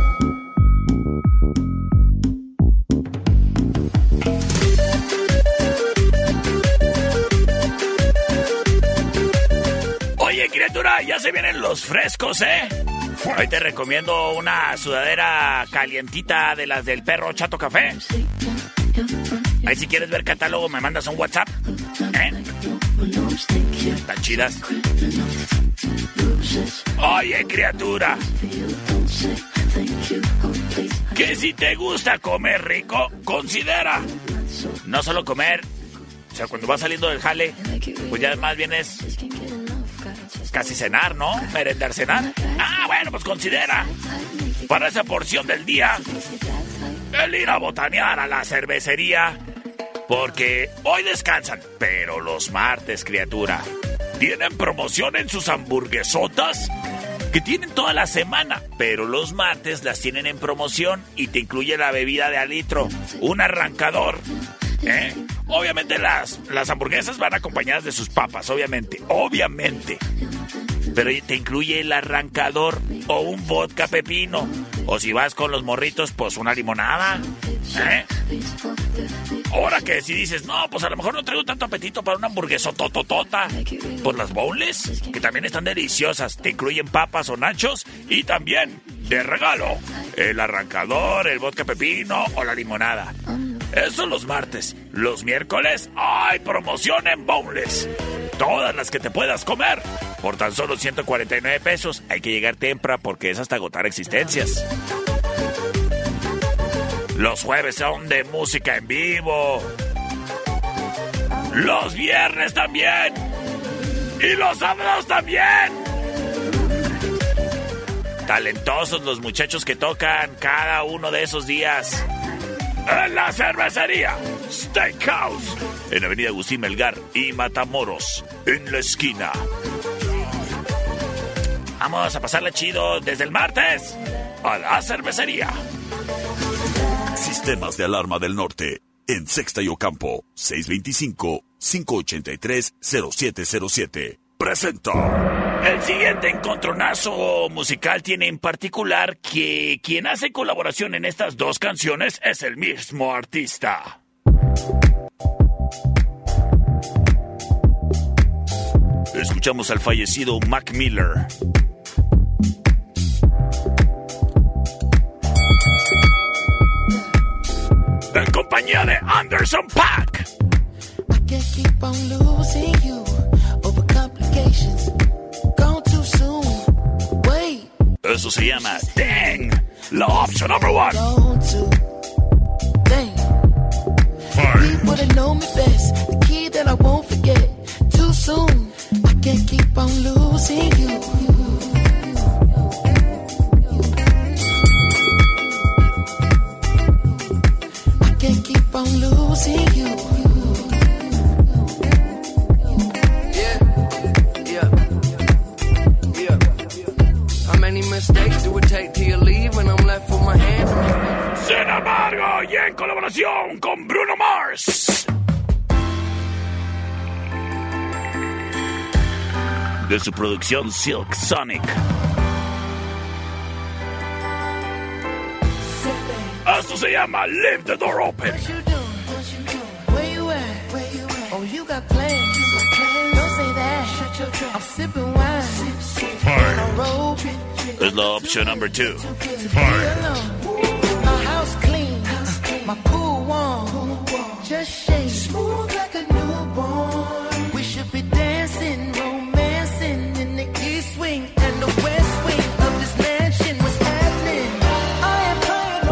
Oye, criatura, ya se vienen los frescos, ¿eh? Hoy te recomiendo una sudadera calientita de las del perro Chato Café. Ahí si quieres ver catálogo me mandas un WhatsApp, ¿eh? Están chidas. Oye, criatura, que si te gusta comer rico, considera no solo comer, o sea, cuando vas saliendo del jale, pues ya más bien es casi cenar, ¿no? Merendar, cenar. Ah, bueno, pues considera para esa porción del día el ir a botanear a la cervecería, porque hoy descansan, pero los martes, criatura, tienen promoción en sus hamburguesotas que tienen toda la semana, pero los martes las tienen en promoción y te incluye la bebida de al litro, un arrancador, ¿eh? Obviamente las, las hamburguesas van acompañadas de sus papas, obviamente, obviamente. Pero te incluye el arrancador o un vodka pepino. O si vas con los morritos, pues una limonada, ¿eh? Ahora que si dices, no, pues a lo mejor no traigo tanto apetito para una hamburguesa tototota, pues las boneless, que también están deliciosas, te incluyen papas o nachos y también, de regalo, el arrancador, el vodka pepino o la limonada. Eso los martes. Los miércoles hay promoción en boneless. Todas las que te puedas comer por tan solo ciento cuarenta y nueve pesos. Hay que llegar temprano porque es hasta agotar existencias. Los jueves son de música en vivo. Los viernes también. Y los sábados también. Talentosos los muchachos que tocan cada uno de esos días. En la cervecería Steakhouse, en Avenida Agustín Melgar y Matamoros, en la esquina. Vamos a pasarla chido desde el martes a la cervecería. Sistemas de Alarma del Norte, en Sexta y Ocampo, seis dos cinco, cinco ocho tres, cero siete cero siete. Presenta. El siguiente encontronazo musical tiene en particular que quien hace colaboración en estas dos canciones es el mismo artista. Escuchamos al fallecido Mac Miller. En compañía de Anderson .Paak. I can't keep on losing you over complications. Gone too soon. Wait. Eso se llama Dang, la option number one. Gone too. Dang. People that know me best, the key that I won't forget. Too soon. I can't keep on losing you. I can't keep on losing you. Mistakes do it take till you leave when I'm left with my hand? Sin embargo, y en colaboración con Bruno Mars. De su producción Silk Sonic. Esto se llama Leave the Door Open. Where you at? Where you at? Oh, you got plans. Don't say that. Shut your trap. I'm sipping wine. On a road. Es la opción number two. My house clean. My pool warm. Just shake. smooth like a newborn. We should be dancing, romancing in the east wing and the west wing of this mansion. What's happening? I am playing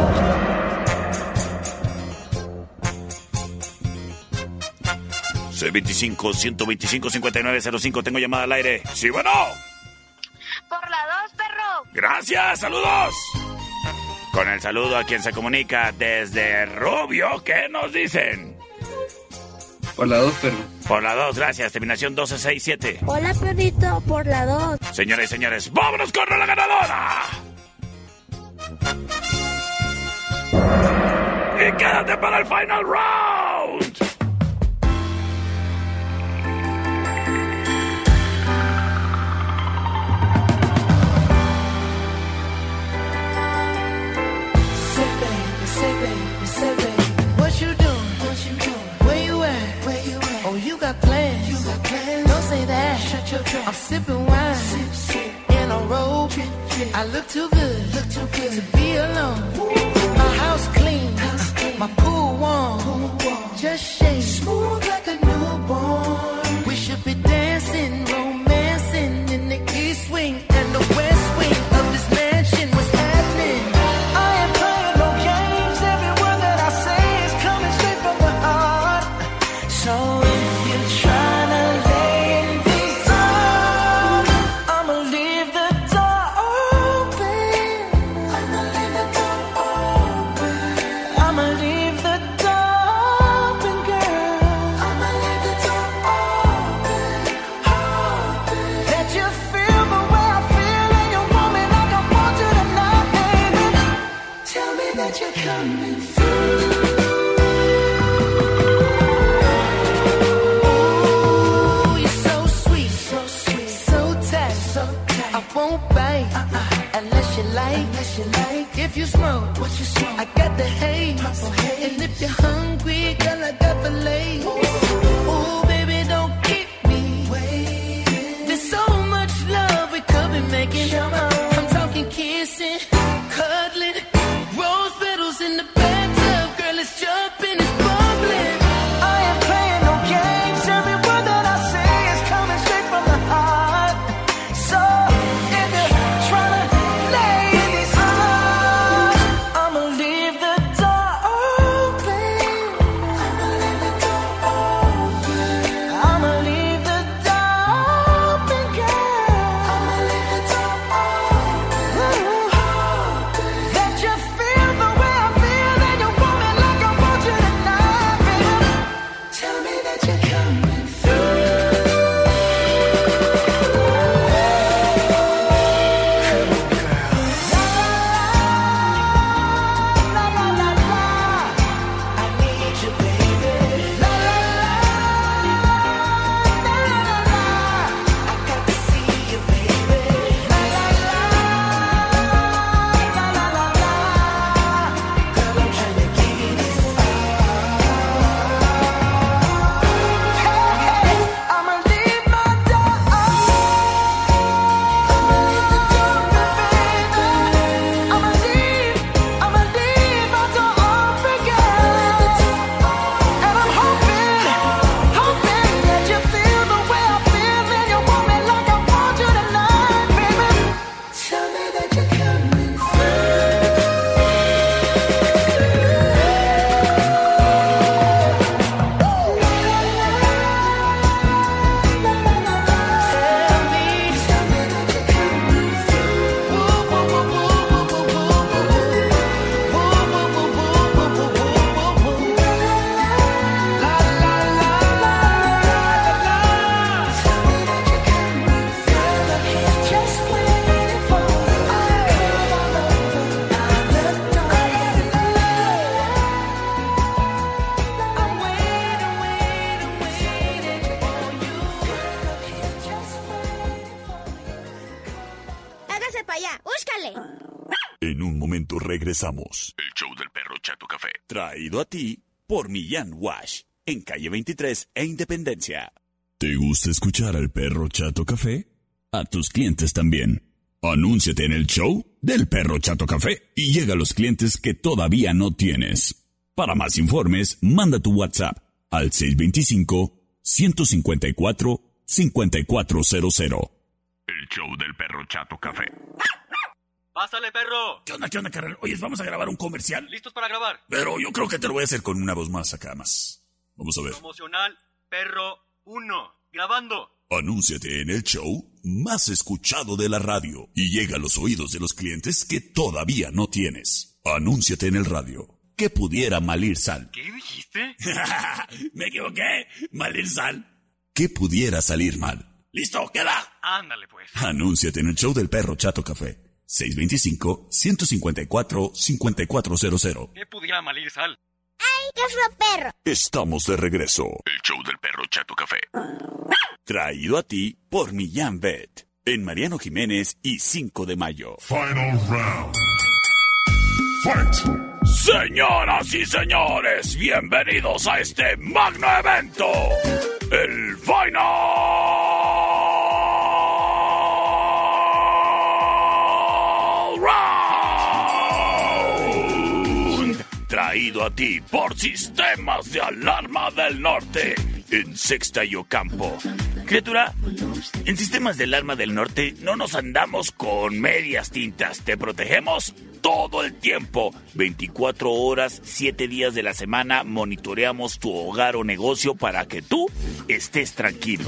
C veinticinco, ciento veinticinco, cincuenta y nueve cero cinco. Tengo llamada al aire. Sí, bueno. Por la dos, perro. Gracias, saludos. Con el saludo a quien se comunica desde Rubio, ¿qué nos dicen? Por la dos, perro. Por la dos, gracias. Terminación doce sesenta y siete. Hola, perrito, por la dos. Señores y señores, vámonos con la ganadora. Y quédate para el final round. Say baby, say baby, say baby, what you doing? What you doing? Where you at? Where you at? Oh, you got plans? You got plans? Don't say that. Shut your trap. I'm sipping wine, sip, sip. In a robe. Drip, drip. I look too good, look too good to be alone. My house clean, house clean. My pool warm, pool warm. Just shake smooth like a newborn. We should be dancing, romancing in the east wing and the west wing of this mansion. What's happening? I am playing no games. Every word that I say is coming straight from the heart. So if you're trying to lay in these arms, I'ma leave the door open. I'ma leave the door open. I'ma leave the door open, girl. I'ma leave the door open, open. Let you feel the way I feel and you want me like I want you tonight, baby. Tell me that you're coming through. Ooh, you're so sweet, so sweet, so tight, so tight. I won't bite uh-uh. unless you like, unless you like. If you smoke, what you smoke? I got the haze. Purple haze. And if you're hungry, girl, I got the lace. Ooh, baby, don't keep me waiting. There's so much love we could be making. I'm talking kissing, cuddling, rose petals in the bathtub. Girl, it's jumping, it's bubbling. I am playing no games. Every word that I say is coming straight from the heart. So if you're trying to lay in these arms, I'ma leave the door open. I'ma leave the door open. I'ma leave the door open, girl. I'ma leave the door open. Let you feel the way I feel and you want me like I want you tonight, baby. Tell me that you're coming through. La la la la, I need you, baby. La la la, la la la la, I got to see you, baby. La la la, la la la la, girl, I'm trying to give you this. Hey, hey, I'ma leave my door open. I'ma leave the door open, baby. I'ma leave, I'ma leave my door open, girl. And I'm hoping, hoping that you feel the way I feel and you want me like I want you tonight, baby. Tell me that you're coming Hágase para allá, búscale. En un momento regresamos. El show del perro Chato Café. Traído a ti por Millán Wash. En calle veintitrés e Independencia. ¿Te gusta escuchar al perro Chato Café? A tus clientes también. Anúnciate en el show del perro Chato Café y llega a los clientes que todavía no tienes. Para más informes, manda tu WhatsApp al seis dos cinco, uno cinco cuatro, cinco cuatro cero cero. El show del perro Chato Café. ¡Pásale, perro! ¿Qué onda, qué onda, carnal? Oye, ¿vamos a grabar un comercial? ¿Listos para grabar? Pero yo creo que te lo voy a hacer con una voz más acá, más. Vamos a ver. Promocional Perro uno. Grabando. Anúnciate en el show más escuchado de la radio y llega a los oídos de los clientes que todavía no tienes. Anúnciate en el radio. Que pudiera malir sal. ¿Qué dijiste? Me equivoqué. Malir sal. Que pudiera salir mal. ¿Listo? ¿Queda? Ándale, pues. Anúnciate en el show del perro Chato Café. seis dos cinco, uno cinco cuatro, cinco cuatro cero cero. ¿Qué pudiera malir sal? ¡Ay, qué fue perro! Estamos de regreso. El show del perro Chato Café. Traído a ti por Millán Vet. En Mariano Jiménez y cinco de mayo. Final round. Fight. Señoras y señores, bienvenidos a este magno evento. El Final Round. Traído a ti por Sistemas de Alarma del Norte. En Sexta y Ocampo. Criatura, en Sistemas de Alarma del Norte no nos andamos con medias tintas. Te protegemos todo el tiempo. veinticuatro horas, siete días de la semana monitoreamos tu hogar o negocio para que tú estés tranquilo.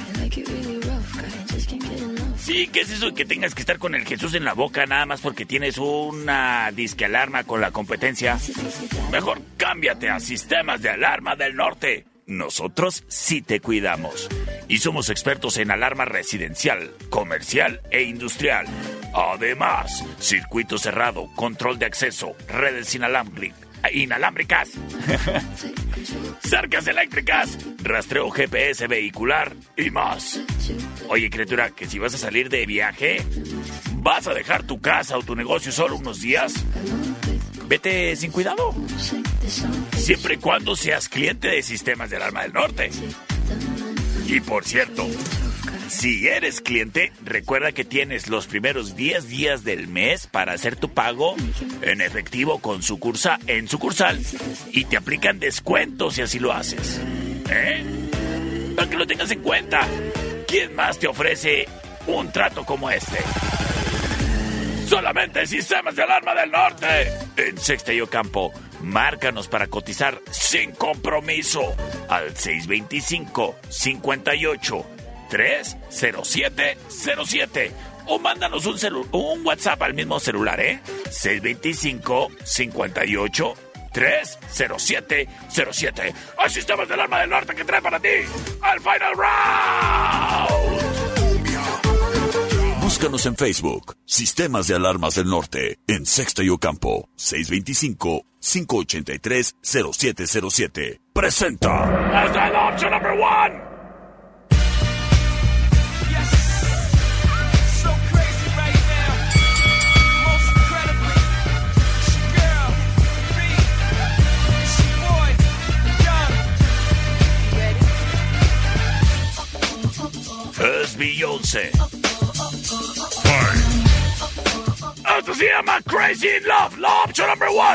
Sí, ¿qué es eso de que tengas que estar con el Jesús en la boca nada más porque tienes una disque alarma con la competencia? Mejor cámbiate a Sistemas de Alarma del Norte. Nosotros sí te cuidamos. Y somos expertos en alarma residencial, comercial e industrial. Además, circuito cerrado, control de acceso, redes inalámbric- inalámbricas, cercas eléctricas, rastreo G P S vehicular y más. Oye, criatura, que si vas a salir de viaje, vas a dejar tu casa o tu negocio solo unos días, vete sin cuidado. Siempre y cuando seas cliente de Sistemas de Alarma del Norte. Y por cierto, si eres cliente, recuerda que tienes los primeros diez días del mes para hacer tu pago en efectivo con sucursal, en sucursal y te aplican descuentos si así lo haces. ¿Eh? Para que lo tengas en cuenta. ¿Quién más te ofrece un trato como este? Solamente Sistemas de Alarma del Norte. En Sexta y Ocampo. Márcanos para cotizar sin compromiso al seis dos cinco, cinco ocho, tres cero siete cero siete o mándanos un, celu- un WhatsApp al mismo celular, ¿eh? seis dos cinco, cinco ocho, tres cero siete cero siete. Hay Sistemas de Alarma del Norte que trae para ti al Final Round. Búscanos en Facebook, Sistemas de Alarmas del Norte, en Sexta y Ocampo, seis dos cinco, cinco ocho tres, cero siete cero siete. Presenta. Hasta el option number one. Es Beyoncé. Esto se llama Crazy in Love, la opción number one.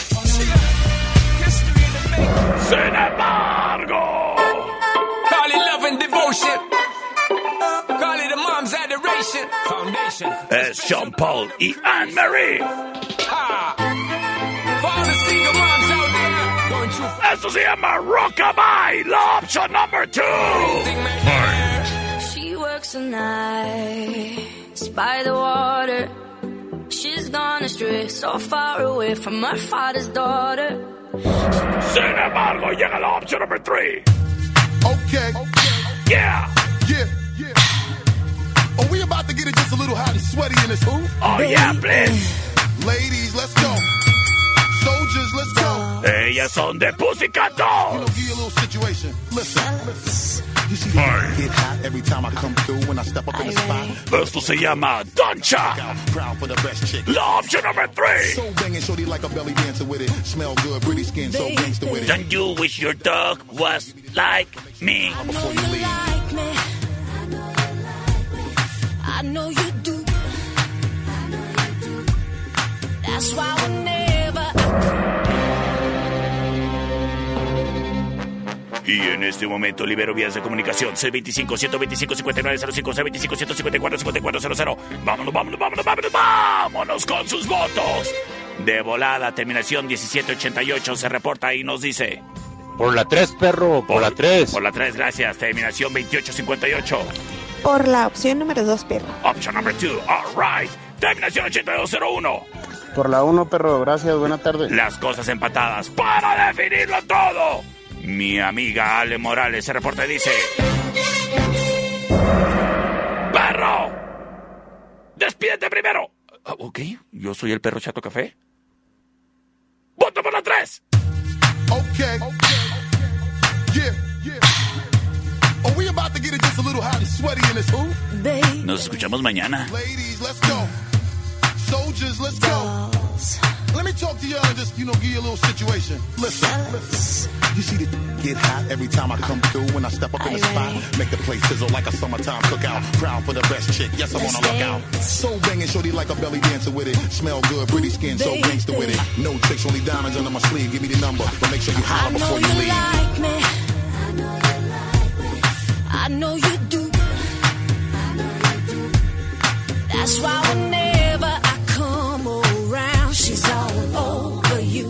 Sin embargo, call it love and devotion. Call it a mom's adoration. Foundation. Es Sean Paul y Anne Marie. Ha. For all the single moms out there going through. Esto se llama Rockabye, la opción number two. She works the nights by the water. She's gone astray, so far away from her father's daughter. Sin embargo, llega la opción number three. Okay. Yeah. Yeah. Yeah. Are we about to get it just a little hot and sweaty in this hoop? Oh, yeah, please. Ladies, let's go. Soldiers, let's go. Ellas son de Pussycat Dolls. You know, give you a little situation. Listen, listen. You see how I get hot every time I come through when I step up in the spot? Esto se llama Doncha. Proud for the best chick. La opción number three. So banging, shorty like a belly dancer with it. Smell good, pretty skin, so gangster with it. Don't you wish your dog was like me? Before you leave. Like me. I know you do. That's why whenever este momento libero vías de comunicación. seis veinticinco, ciento veinticinco, cincuenta y nueve cero cinco, seis veinticinco, ciento cincuenta y cuatro, cincuenta y cuatro cero cero. Vámonos, vámonos, vámonos, vámonos, vámonos con sus votos. De volada, terminación diecisiete ochenta y ocho se reporta y nos dice... Por la tres, perro, por, por la tres. Por la tres, gracias. Terminación veintiocho cincuenta y ocho. Por la opción número dos, perro. Option number two, all right. Terminación ochenta y dos cero uno. Por la uno, perro, gracias, buena tarde. Las cosas empatadas para definirlo todo. Mi amiga Ale Morales se reporta y dice... ¡Perro! ¡Despídete primero! Uh, ok, yo soy el perro Chato Café. ¡Voto por la tres! Okay. Yeah, yeah. Oh, we about to get it just a little hot and sweaty in this hoop. Nos escuchamos mañana. Ladies, let's go. Soldiers, let's go. Let me talk to y'all and just, you know, give you a little situation. Listen, listen. You see the get hot every time I come through. When I step up in the spot, make the place sizzle like a summertime cookout. Proud for the best chick, yes, I'm on a lookout. So banging, shorty like a belly dancer with it. Smell good, pretty skin, so gangster with it. No tricks, only diamonds under my sleeve. Give me the number, but make sure you holler before you leave. Like me. I know you like me. I know you do. I know you do. That's why whenever I come around, she's all over you.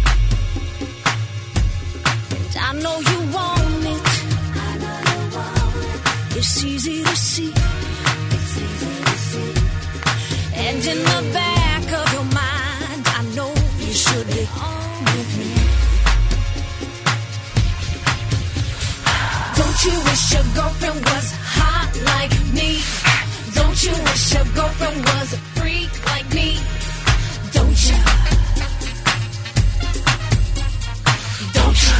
And I know you want it. I know you want it. It's easy to see. It's easy to see. And in the back of your mind, I know you should be on with me. Don't you wish your girlfriend was hot like me? Don't you wish your girlfriend was a freak like me? Don't you? Don't you?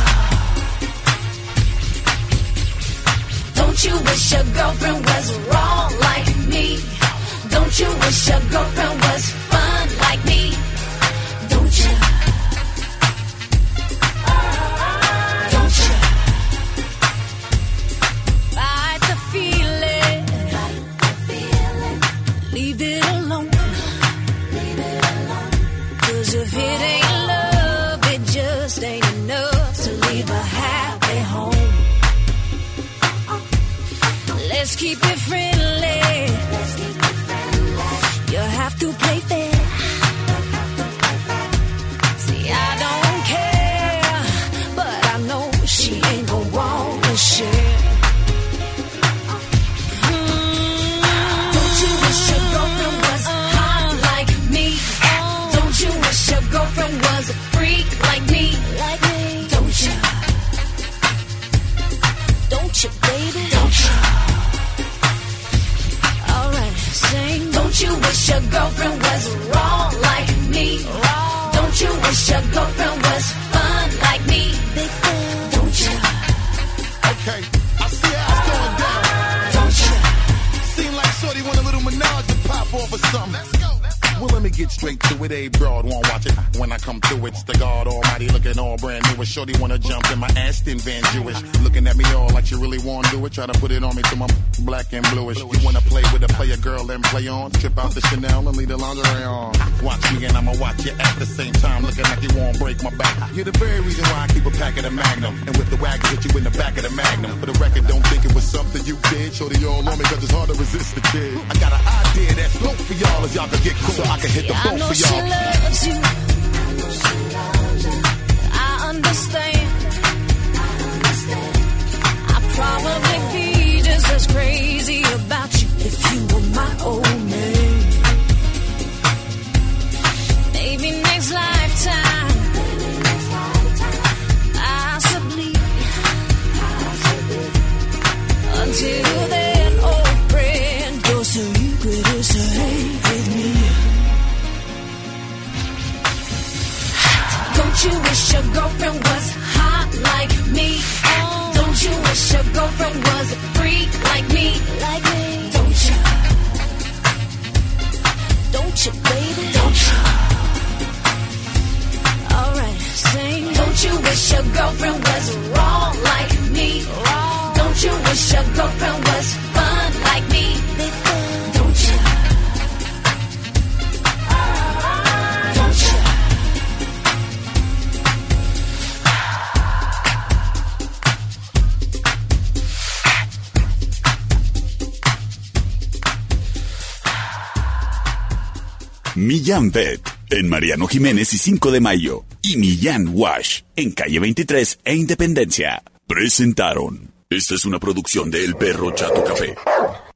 Don't you wish your girlfriend was wrong like me? Don't you wish your girlfriend was fun like me? Don't you? Don't you? Fight the feeling. Leave it alone. Leave it alone. 'Cause if it ain't love, it just ain't enough to leave a happy home. Let's keep it friendly. Let's keep it friendly. You have to play fair. See, I don't care, but I know she ain't gonna want to share. Girlfriend was a freak like me, like me. Don't you? Don't you, baby? Don't you? All right, sing. Don't you wish your girlfriend was wrong like me? Wrong. Don't you wish your girlfriend was fun like me? Big fan. Don't you? Okay, I see how it's going down. Don't you? Seem like shorty want a little menage to pop off or something. Let's go. Well, let me get straight to it. A broad won't watch it. When I come through, it's the God Almighty looking all brand new. A shorty wanna jump in my Aston Van Jewish. Looking at me all like you really wanna do it. Try to put it on me till I'm black and bluish. You wanna play with a player girl and play on? Trip out the Chanel and leave the lingerie on. Watch me and I'ma watch you at the same time. Looking like you won't break my back. You're the very reason why I keep a pack of the Magnum. And with the wagon, hit you in the back of the Magnum. For the record, don't think it was something you did. Shorty all on me cause it's hard to resist the kid. I got an idea that's dope for y'all as y'all can get cool. So I can hit the boat. I know she loves you. I understand. I'd probably be just as crazy about you if you were my old man. Maybe next lifetime, possibly. Until then, old friend, you're so you could say with me. Don't you wish your girlfriend was hot like me? Don't you wish your girlfriend was a freak like me? Like me? Don't you? Don't you, baby? Don't you? All right, sing. Don't you wish your girlfriend was wrong like me? Wrong. Don't you wish your girlfriend was Millán Vet, en Mariano Jiménez y cinco de mayo. Y Millán Wash, en calle veintitrés e Independencia. Presentaron. Esta es una producción de El Perro Chato Café.